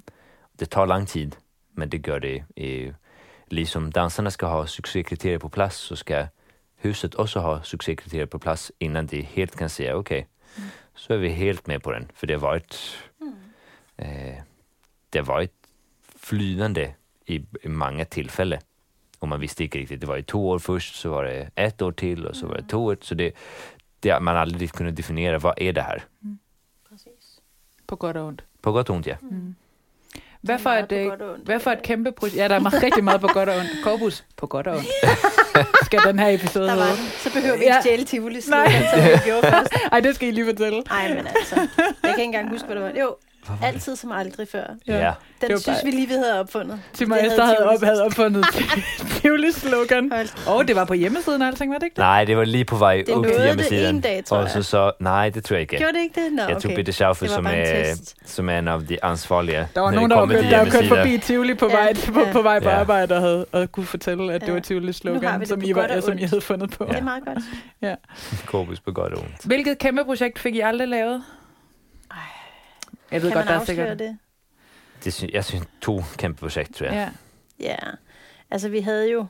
Det tar lang tid, men det gør det. Eh, ligesom danserne skal have succeskriterier på plads, så skal huset også have succeskriterier på plads, innan de helt kan sige, okay, mm. så er vi helt med på den. For det var et, mm. eh, det var et flydende i, i mange tilfælde. Og man visste ikke rigtigt, det var i to år først, så var det ett år til, og så var det to år. Så det, det har man aldrig kunnet definiere, hvad er det her? Mm. Præcis. På godt og ondt. På godt og ondt, ja. Mm. Hvad for, et, hvad for et kæmpe projekt? Ja, der er rigtig meget på godt og ondt. Korpus på godt og ondt. Skal den her episode der var den. Så behøver vi ikke stjæle Tivoli slogan, som vi gjorde først. Ej, det skal I lige fortælle. Ej, men altså. Jeg kan ikke engang huske, hvad det var. Jo, altid som aldrig før. Ja. Ja. Den synes bare... vi lige, vi havde opfundet. Tim og Esther havde, op, havde opfundet Tivoli slogan. Og oh, det var på hjemmesiden og alting, var det ikke det? Nej, det var lige på vej det ud til hjemmesiden. Det en dag, tror jeg. Og så så, nej, det tror jeg ikke. Gjorde det ikke det? Nå, jeg tog okay. Bitte Schaufer, som er, som er en af de ansvarlige. Der var nogen, der var kørt, der kørt forbi Tivoli på vej, ja, på, ja. på, vej på ja. arbejde og havde og kunne fortælle, at ja. det var Tivoli slogan, som I, var, som I havde fundet på. Ja. Det er meget godt. Ja. Korpus på godt og ondt. Hvilket kæmpe projekt fik I aldrig lavet? Ej, jeg ved kan godt, man der er sikkert det? Det synes, jeg synes to kæmpe projekt, tror jeg. Ja. Ja, altså vi havde jo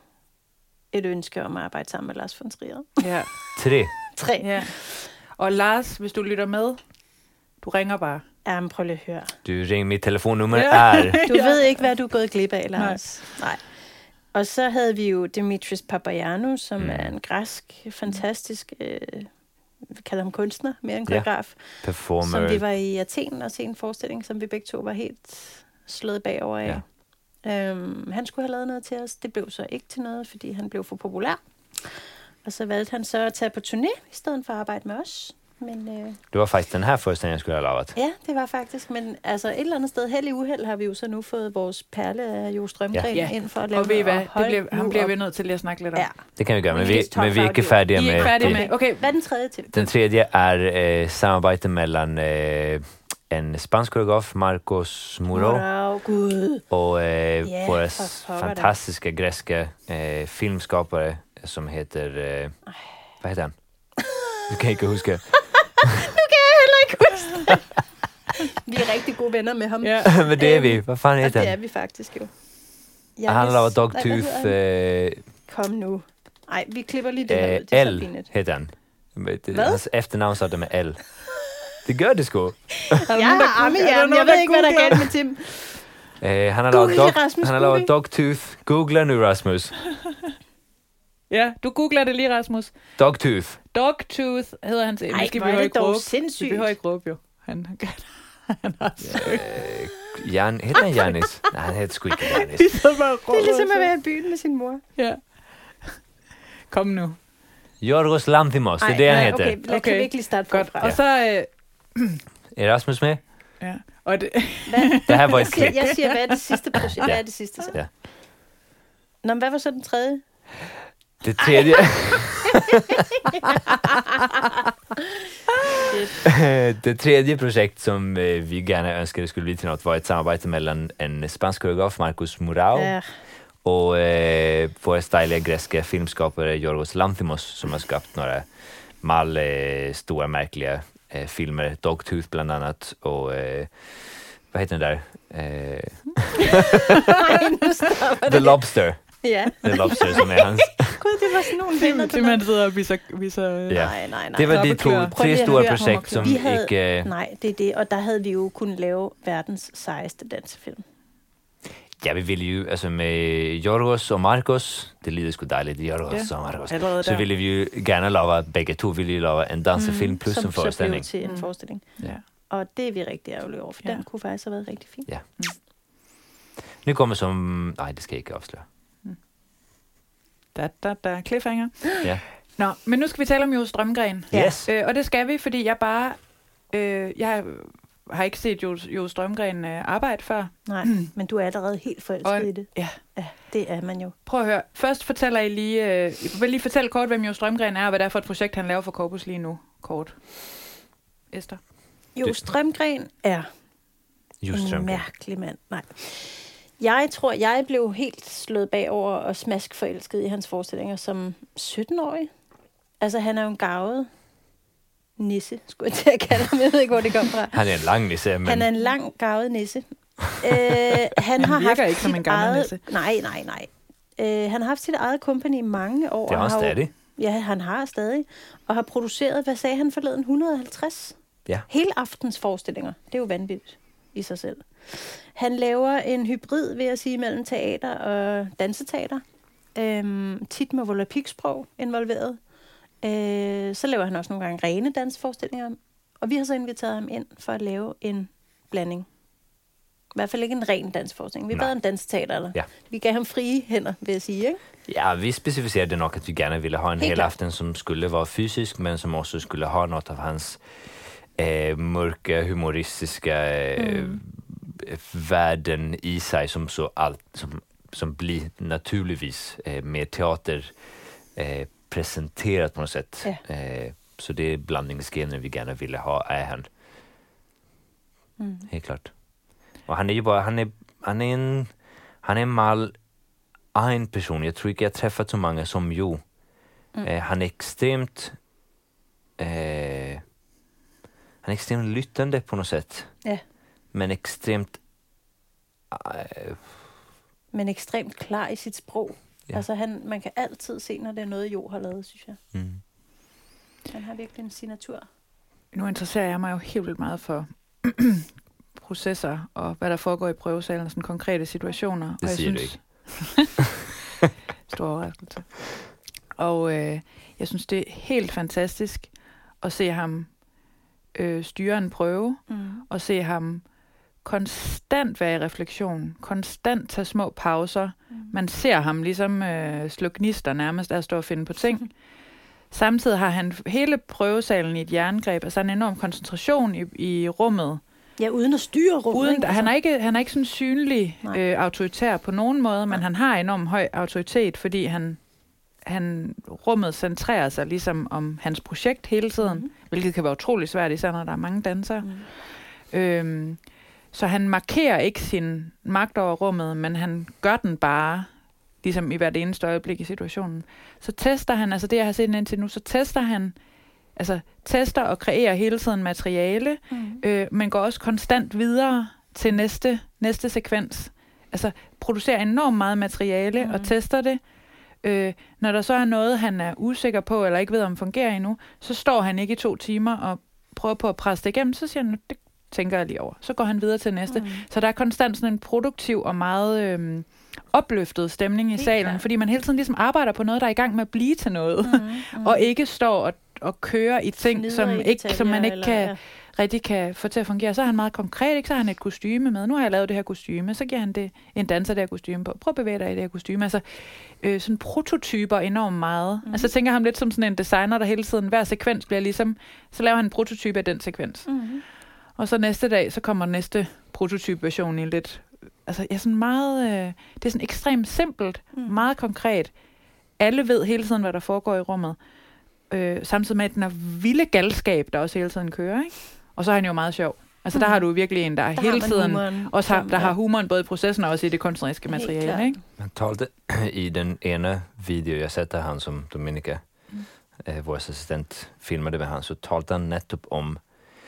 et ønske om at arbejde sammen med Lars von Trier. Ja. Tre. Tre. Ja. Og Lars, hvis du lytter med, du ringer bare. Ja, men prøv lige at høre. Du ringer, mit telefonnummer ja. er... Du ja. ved ikke, hvad du er gået glip af, Lars. Nej. Nej. Og så havde vi jo Dimitris Papagiannou, som mm. er en græsk, fantastisk... Øh, vi kalder ham kunstner, mere en koreograf. Ja. Performer. Som vi var i Athen og se en forestilling, som vi begge to var helt slået bagover af. Ja. Øhm, han skulle have lavet noget til os. Det blev så ikke til noget, fordi han blev for populær. Og så valgte han så at tage på turné, i stedet for at arbejde med os. Men, øh, det var faktisk den her forestilling, jeg skulle have lavet. Ja, det var faktisk. Men altså et eller andet sted, held i uheld, har vi jo så nu fået vores perle af Jo Strømgren ja. ind for at lave og ved I hvad? Det bliver, ham bliver vi nødt til at snakke lidt om. Ja. Det kan vi gøre, men vi, men vi er ikke færdige med... I er ikke færdige med... Okay. Hvad er den tredje til? Den tredje er øh, samarbejde mellem øh, en spansk koreograf, Marcos Muro, wow, God. og øh, yeah, vores fantastiske græske øh, filmskapare, som heter... Øh, hvad heter han? Du kan ikke huske. Nu kan jeg heller ikke huske det. Vi er rigtig gode venner med ham. Ja. Men det er vi. Hvad fanden heter han? Det er vi faktisk jo. Jeg han laver Dogtooth. Øh, Kom nu. Nej, vi klipper lige det her ud. Det L hedder han. Hvad? Hans efternavn starter med L. Det gør det sgu. Ja, arme hjernen. Jeg ved ikke, hvad der er galt med Tim. Uh, han har lavet, dog, han har lavet Dogtooth. Google nu, Rasmus. Ja, du googler det lige, Rasmus. Dogtooth. Dogtooth hedder hans... Ej, hvor er det dog sindssygt. Vi behøver ikke råbe, jo. Han, han har søgt. Uh, Jan, hedder han Janis? Nej, han hedder sgu ikke Janis. Det er ligesom at være i byen med sin mor. Ja. Kom nu. Yorgos Lanthimos, det er det, han hedder. Okay, lad okay. Kan vi ikke lige starte forfra. Og så... Øh... Er Rasmus med? Ja. Og det... det her var et klip. Jeg siger, hvad er det sidste projekt? Hvad er det sidste så? Ja. Nå, men hvad var så den tredje? Det tredje... det tredje projekt som øh, vi gerne ønskede skulle blive til noget, var et samarbejde mellem en spansk koreograf, Marcos Muro, ja. og øh, vores dejlige græske filmskapare, Yorgos Lanthimos, som har skabt några mal øh, stora, märkliga øh, filmer, Dogtooth bland annat, og øh, vad heter den där? Øh, The Lobster. Ja. The Lobster, som er hans. Gud, det var sådan nogle venner. Det man sidder og viser... viser ja. Nej, nej, nej. Det var de to, tre store projekt, som havde, ikke... Nej, det er det, og der havde vi jo kunnet lave verdens sejeste dansefilm. Ja, vi ville jo, altså med Yorgos og Marcos, det lyder sgu dejligt, Yorgos ja. og Marcos, så ville vi jo gerne lave, begge to ville lave en dansefilm mm, plus en forestilling. Som så blev til en forestilling. Ja. Og det er vi rigtig ærgerlige over, for ja. den kunne faktisk have været rigtig fin. Ja. Mm. Nu kommer som... Nej, det skal jeg ikke afsløre. Da, da, da. Cliffhanger. Ja. Nå, men nu skal vi tale om Jo Strømgren. Yes. Øh, og det skal vi, fordi jeg bare... Øh, jeg har ikke set Jo, jo Strømgren øh, arbejde før. Nej, men du er allerede helt forelsket og, i det. Ja. Ja, det er man jo. Prøv at høre. Først fortæller I lige... Øh, jeg vil lige fortælle kort, hvem Jo Strømgren er, og hvad det er for et projekt, han laver for Corpus lige nu. Kort. Esther? Jo Strømgren er Just en Strømgren. mærkelig mand. Nej. Jeg tror, jeg blev helt slået bagover og smask forelsket i hans forestillinger som sytten-årig. Altså, han er jo en garvet nisse, skulle jeg til at kalde ham. Jeg ved ikke, hvor det kom fra. Han er en lang nisse, men... Han er en lang, garvet nisse. øh, han har virker haft ikke som en gammel eget... nisse. Nej, nej, nej. Øh, han har haft sit eget company i mange år. Det er og også har jo- stadig. Ja, han har stadig. Og har produceret, hvad sagde han forleden, et hundrede og halvtreds Ja. hele aftens forestillinger. Det er jo vanvittigt i sig selv. Han laver en hybrid, vil jeg sige, mellem teater og danseteater. Øhm, tit med volapyksprog involveret. Øh, så laver han også nogle gange rene danseforestillinger. Og vi har så inviteret ham ind for at lave en blanding. I hvert fald ikke en ren dansforestilling. Vi Nej. bad om danseteater. Eller? Ja. Vi gav ham frie hænder, vil jeg sige. Ikke? Ja, vi specificerade nok att vi gärna ville ha en Helt hel klart. aften som skulle vara fysisk, men som också skulle ha något av hans eh, mörka, humoristiska eh, Mm. värden i sig som så allt som, som blir naturligtvis eh, med teater eh, presenterat på något sätt. Ja. Eh, så det är blandningsgener vi gärna ville ha, är han. Mm. Helt klart. Och han är ju bara, han är, han är en, han är en mal en person. Jag tror inte jag träffat så många som Jo. Mm. Eh, han är extremt eh, han är extremt lyttande på något sätt. Ja. Men extremt eh, Men ekstremt klar i sit sprog. Ja. Altså, han, man kan altid se, når det er noget, Jo har lavet, synes jeg. mm. Han har virkelig en signatur. Nu interesserer jeg mig jo helt vildt meget for processer og hvad der foregår i prøvesalen, sådan konkrete situationer. Det og jeg siger du synes, stor overraskelse. Og øh, jeg synes, det er helt fantastisk at se ham øh, styre en prøve, Mm. og se ham konstant være i refleksion, konstant tage små pauser. Mm. Man ser ham ligesom øh, slå gnister nærmest af at stå og finde på ting. Samtidig har han hele prøvesalen i et jerngreb, altså en enorm koncentration i, i rummet. Ja, uden at styre rummet. Uden, ikke? han, er ikke, han er ikke sådan synlig Nej. øh, autoritær på nogen måde, men Nej. han har enorm høj autoritet, fordi han, han rummet centrerer sig ligesom om hans projekt hele tiden, Mhm. hvilket kan være utrolig svært, især når der er mange dansere. Mm. Øhm, så han markerer ikke sin magt over rummet, men han gør den bare, ligesom i hvert eneste øjeblik i situationen. Så tester han, altså det jeg har set indtil nu, så tester han, altså tester og kreerer hele tiden materiale, Mm. øh, men går også konstant videre til næste, næste sekvens. Altså producerer enormt meget materiale Mhm. og tester det. Øh, når der så er noget, han er usikker på, eller ikke ved, om fungerer endnu, så står han ikke i to timer og prøver på at presse det igennem, så siger han, det tænker jeg lige over. Så går han videre til næste. Mm. Så der er konstant sådan en produktiv og meget øhm, opløftet stemning i Helt salen, klart. fordi man hele tiden ligesom arbejder på noget, der er i gang med at blive til noget, Mm. Mm. og ikke står og, og kører i ting, Fnider som, i ikke, som man detaljer, ikke eller- kan, ja. rigtig kan få til at fungere. Så er han meget konkret, ikke? Så har han et kostyme med. Nu har jeg lavet det her kostyme, så giver han det en danser det her kostyme på. Prøv at bevæge dig i det her kostyme. Altså, øh, sådan prototyper enormt meget. Mhm. Mm. Altså, jeg tænker ham lidt som sådan en designer, der hele tiden, hver sekvens bliver ligesom, så laver han en prototype af den sekvens. Mm. Og så næste dag, så kommer næste prototype-version i lidt... Altså, ja, sådan meget... Øh, det er sådan ekstremt simpelt, Mm. mm. meget konkret. Alle ved hele tiden, hvad der foregår i rummet. Øh, samtidig med, at den er vilde galskab, der også hele tiden kører, ikke? Og så er han jo meget sjov. Altså, mm. der Mm. har du virkelig en, der, Der hele har man tiden... humoren, Også har, som der er- har humoren både i processen og også i det kunstneriske Helt materiale, klart. ikke? Han talte i den ena video jag sett där han som Dominika, Mm. eh, vår assistent, filmade med han, så talte han nettopp om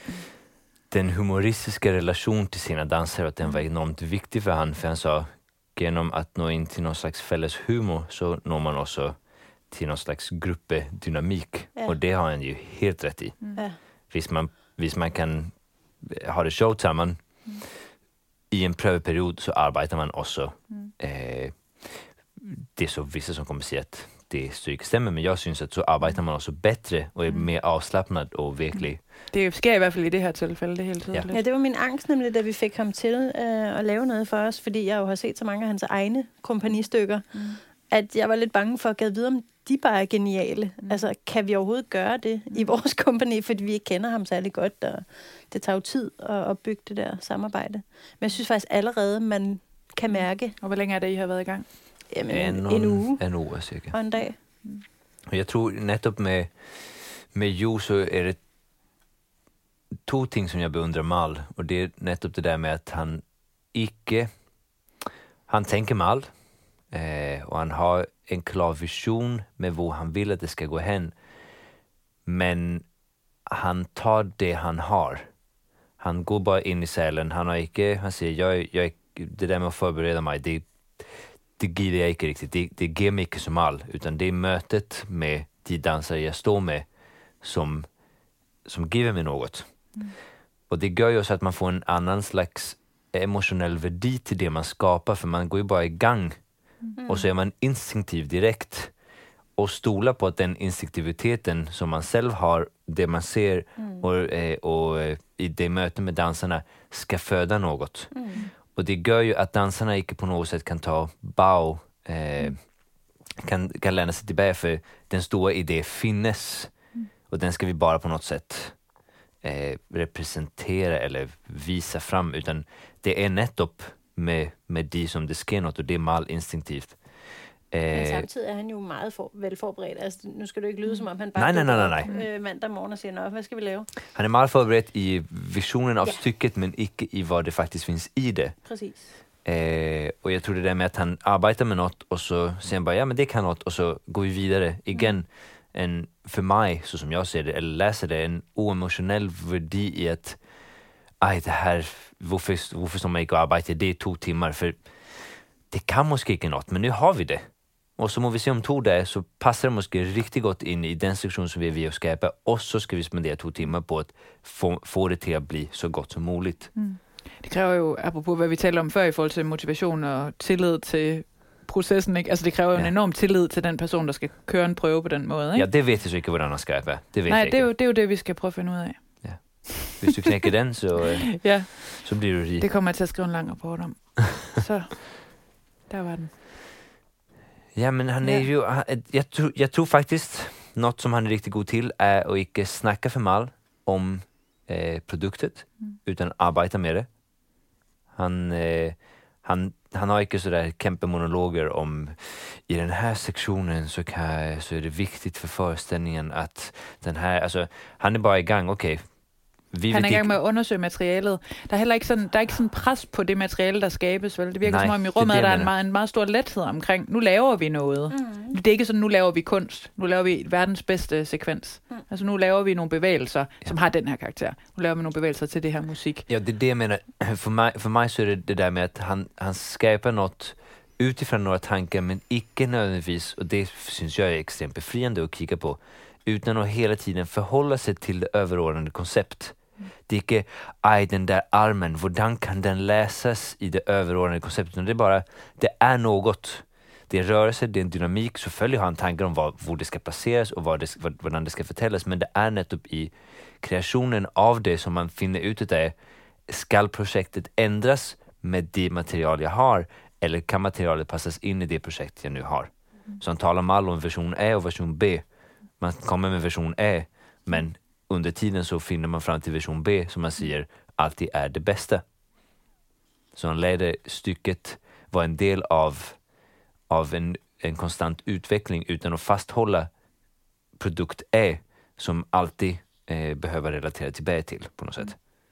den humoristiska relation till sina dansare och att den var enormt viktig för han, för han sa genom att nå in till någon slags fälles humor så når man också till någon slags gruppedynamik. Ja. Och det har han ju helt rätt i. Ja. Hvis man, hvis man kan ha det sjovt sammen Mm. i en prøveperiod, så arbejder man også. Mm. Eh, det är så vissa som kommer säga att det stryker stämmer, men jag syns att så arbetar man också bättre och är Mm. mer avslappnad och virkelig. Det sker i hvert fald i det her tilfælde, det er helt tydeligt. Ja, det var min angst nemlig, da vi fik ham til øh, at lave noget for os, fordi jeg jo har set så mange af hans egne kompagnistykker, Mm. at jeg var lidt bange for at gade videre, om de bare er geniale. Mm. Altså, kan vi overhovedet gøre det i vores kompagni, fordi vi ikke kender ham særlig godt, og det tager jo tid at opbygge det der samarbejde. Men jeg synes faktisk allerede, man kan mærke. Og hvor længe er det, I har været i gang? Jamen, en, en uge. En uge, cirka. Og en dag. Mm. Og jeg tror netop med, med Jo, så er det to ting, som jeg beundrer Mal. Og det er netop det der med, at han ikke... Han tänker Mal. Eh, och han har en klar vision med hvor han vill att det ska gå hen. Men han tar det han har. Han går bara in i cellen. Han har inte, han säger, jag, jag, det där med att förbereda mig, det, det giver jag inte riktigt. Det, det ger mig inte som all. Utan det är mötet med de dansare jag står med som, som giver mig något. Mm. Och det gör ju så att man får en annan slags emotionell värde till det man skapar. För man går ju bara igång. Mm. Och så är man instinktiv direkt och stolar på att den instinktiviteten som man själv har, det man ser mm. och, eh, och eh, i det mötet med dansarna ska föda något. Mm. Och det gör ju att dansarna inte på något sätt kan ta bau, eh, mm. kan, kan lämna sig tillbaka, för den stora idé finnes mm. och den ska vi bara på något sätt eh, representera eller visa fram, utan det är nettopp med, med de som det sker något, og det er meget instinktivt. Men samtidig er han jo meget for, velforberedt. Altså, nu skal du ikke lyde, som om han bare nej, nej, nej, nej, nej. Øh, mandag morgen og siger, nå, hvad skal vi lave? Han er meget forberedt i visionen av ja. stykket, men ikke i hvad det faktisk findes i det. Præcis. Eh, og jeg tror det der med, at han arbejder med noget, og så siger han bare, ja, men det kan noget, og så går vi videre igen. Mm. En, for mig, så som jeg ser det, eller læser det, en uemotionell værdi i at ej, det her, hvorfor, hvorfor står man ikke og arbejder det er to timer, for det kan måske ikke noget, men nu har vi det. Og så må vi se om to dage, så passer det måske rigtig godt ind i den sektion, som vi er ved at skabe, og så skal vi spendere to timer på at få, få det til at blive så godt som muligt. Mm. Det kræver jo, apropos hvad vi talte om før i forhold til motivation og tillid til processen, ikke? Altså det kræver jo ja. en enorm tillid til den person, der skal køre en prøve på den måde, ikke? Ja, det ved jeg så ikke, hvordan man skal være. Det ved Nej, jeg det er, jo, det er jo det, vi skal prøve at finde ud af. Ja. Hvis du knækker den, så, øh, ja. så bliver du rig. Det kommer jeg til at skrive en lang rapport om. Så, der var den. Ja, men han är ju, jag tror, jag tror faktiskt något som han är riktigt god till är att inte snacka för mal om eh, produktet, mm. utan arbeta med det. Han, eh, han, han har inte sådär kämpemonologer om i den här sektionen så, kan, så är det viktigt för föreställningen att den här, alltså han är bara igång, okej. Okay. Vi han er i gang med at undersøge materialet. Der er heller ikke sådan, der er ikke sådan pres på det materiale, der skabes, vel? Det virker Nej, som om i rummet, det, det, der er en meget, en meget stor lethed omkring, nu laver vi noget. Mm. Det er ikke sådan, nu laver vi kunst. Nu laver vi verdens bedste sekvens. Mm. Altså nu laver vi nogle bevægelser, ja. som har den her karakter. Nu laver vi nogle bevægelser til det her musik. Ja, det er det, jeg mener. For mig, for mig så er det det der med, at han, han skaber noget utifrån några tankar, men ikke nødvendigvis, og det synes jeg er ekstremt befriende at kigge på, utan att hela tiden förhålla sig till det överordnade koncept. Det är inte, aj den där armen, hvordan kan den läsas i det överordnade konceptet? Det är bara, det är något. Det är rörelse, det är en dynamik. Så följer han tankar om vad, hvor det ska placeras och vad det, hvordan det ska förtällas. Men det är nettopp i kreationen av det som man finner ut där. Ska projektet ändras med det material jag har? Eller kan materialet passas in i det projekt jag nu har? Mm. Så han talar om all om version A och version B. Man kommer med version A, men under tiden så finner man fram till version B som man säger alltid är det bästa. Så han lärde stycket vara en del av, av en, en konstant utveckling utan att fasthålla produkt A som alltid eh, behöver relatera till B till på något sätt.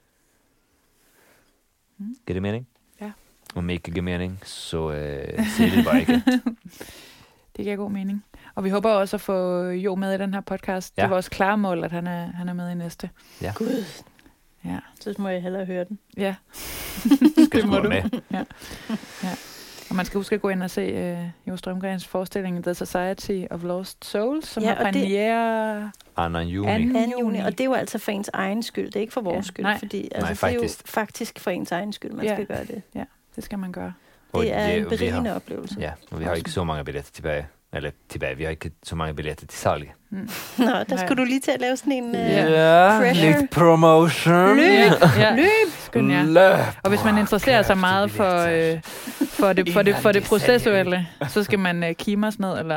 Mm. Ger det mening? Ja. Om ikke giver mening, så eh, siger det bare ikke. Det giver god mening. Og vi håber også at få Jo med i den her podcast. Ja. Det er vores klare mål, at han er, han er med i næste. Ja. Gud. Ja. Så må jeg hellere høre den. Ja. Skal du med? Ja. Ja. Og man skal huske at gå ind og se uh, Jo Strømgrens forestilling The Society of Lost Souls, som ja, har premiere anden juni. anden juni. Og det er jo altså for ens egen skyld. Det er ikke for vores ja. skyld. Nej. Fordi, altså, Nej, det er jo faktisk for ens egen skyld, man ja. skal gøre det. Ja, det skal man gøre. Det er det, en berigende har, oplevelse. Ja, og vi har ikke så mange billetter tilbage. Eller tilbage, vi har ikke så mange billetter til salg. Mm. Nå, der skulle du lige til at lave sådan en uh, ja, pressure. lidt promotion. Løb! Ja. Løb! Skøn, ja. Løb! Og hvis man interesserer sig meget for, øh, for, det, for, det, for det processuelle, så skal man øh, kime os ned, eller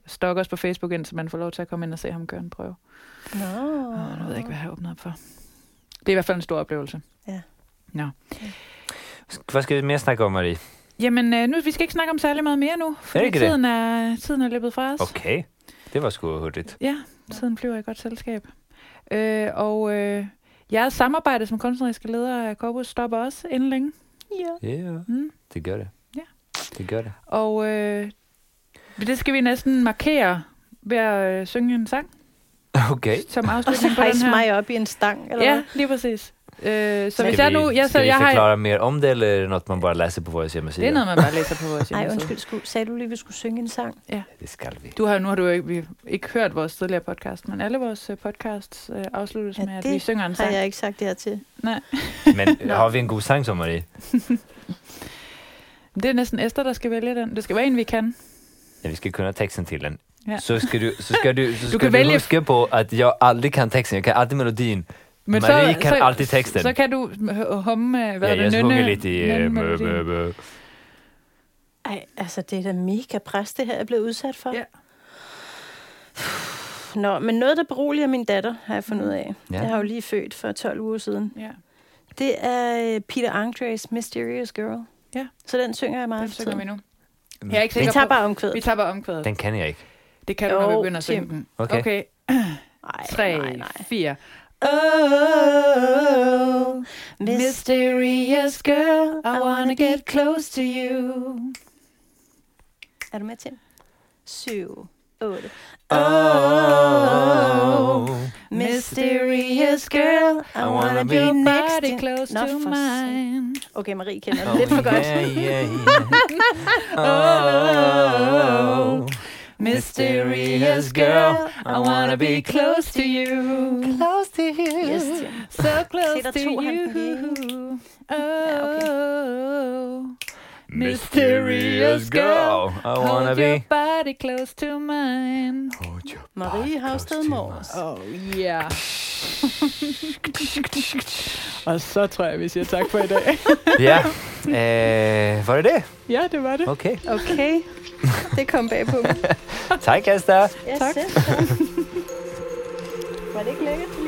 stalk os på Facebook, indtil man får lov til at komme ind og se ham gøre en prøve. Nå. Oh, nu ved jeg ikke, hvad jeg har åbnet op for. Det er i hvert fald en stor oplevelse. Ja. Nå. Hvad skal vi mere snakke om, Marie? Jamen, øh, nu, vi skal ikke snakke om særlig meget mere nu, fordi tiden er, tiden er løbet fra os. Okay, det var sgu hurtigt. Ja, tiden flyver i godt selskab. Øh, og øh, jeres samarbejde som kunstneriske leder af Corpus stopper også inden længe. Ja. Ja, yeah, mm. det gør det. Ja. Det gør det. Og øh, det skal vi næsten markere ved at øh, synge en sang. Okay. Som Og så afslutning på den hejse her. mig op i en stang, eller Ja, hvad? lige præcis. Øh, så Skal hvis jeg nu... vi, Jeg, så skal vi jeg forklare har, mere om det, eller er det noget, man bare læser på vores hjemmeside? det er noget, man bare læser på vores Nej, hjemmeside. undskyld, skulle, sagde du lige, at vi skulle synge en sang? Ja, det skal vi. Du har, nu har du jo ikke, vi, ikke hørt vores tidligere podcast, men alle vores uh, podcasts uh, afsluttes Ja, med, at det vi synger en sang. har jeg ikke sagt det her til. Nej. Men har vi en god sang, som Marie? Det er næsten Esther, der skal vælge den. Det skal være en, vi kan. Ja, vi skal kunna texten till den. Ja. Så ska du, så ska du, så Du ska kan du vælge- huska på att jag aldrig kan texten. Jag kan alltid melodin. Men Marie kan alltid texten. Så kan du h- humme, hvad Ja, er jeg det, sjunger nynne- lidt i... nynne øh, mø, melodien. mø, mø. Ej, altså det er da mega pres, det her jeg er blevet udsat for. Ja. Nå, men noget, der beroliger min datter, har jeg fundet ud af. Ja. Jeg har jo lige født for tolv uger siden. Ja, Det er øh, Peter Andres Mysterious Girl. Ja. Så den synger jeg meget den for synger vi tiden. nu. Jeg er ikke Vi sikker tager på... bare omkvædet. Vi tager bare omkvædet. Den kan jeg ikke. Det kan du, når vi Jo, begynder at synge Tim. den. Okay. Okay. Ej, Tre, nej, nej. fire. Oh, Mysterious girl, I wanna get close to you. Er du med, Tim? Syv, otte. Oh, Mysterious girl, I wanna be your next body to close Nå, to for mine. Okay, Marie kender det lidt for godt. Yeah, yeah, yeah. Oh, Mysterious girl, I wanna be close to you. Close to you. Yes, Tim. So close Se, der to tog han den you. Oh, Mysterious girl, I wanna hold your be. body close to mine. Hold your Marie body Havsted close to Mors. Oh yeah. Og så tror jeg, vi siger tak for i dag. Ja, øh, var det det? Ja, det var det. Okay. Okay, det kom bag på mig. Tak, Esther. Ja, Tak. selv tak. Var det ikke lækkert?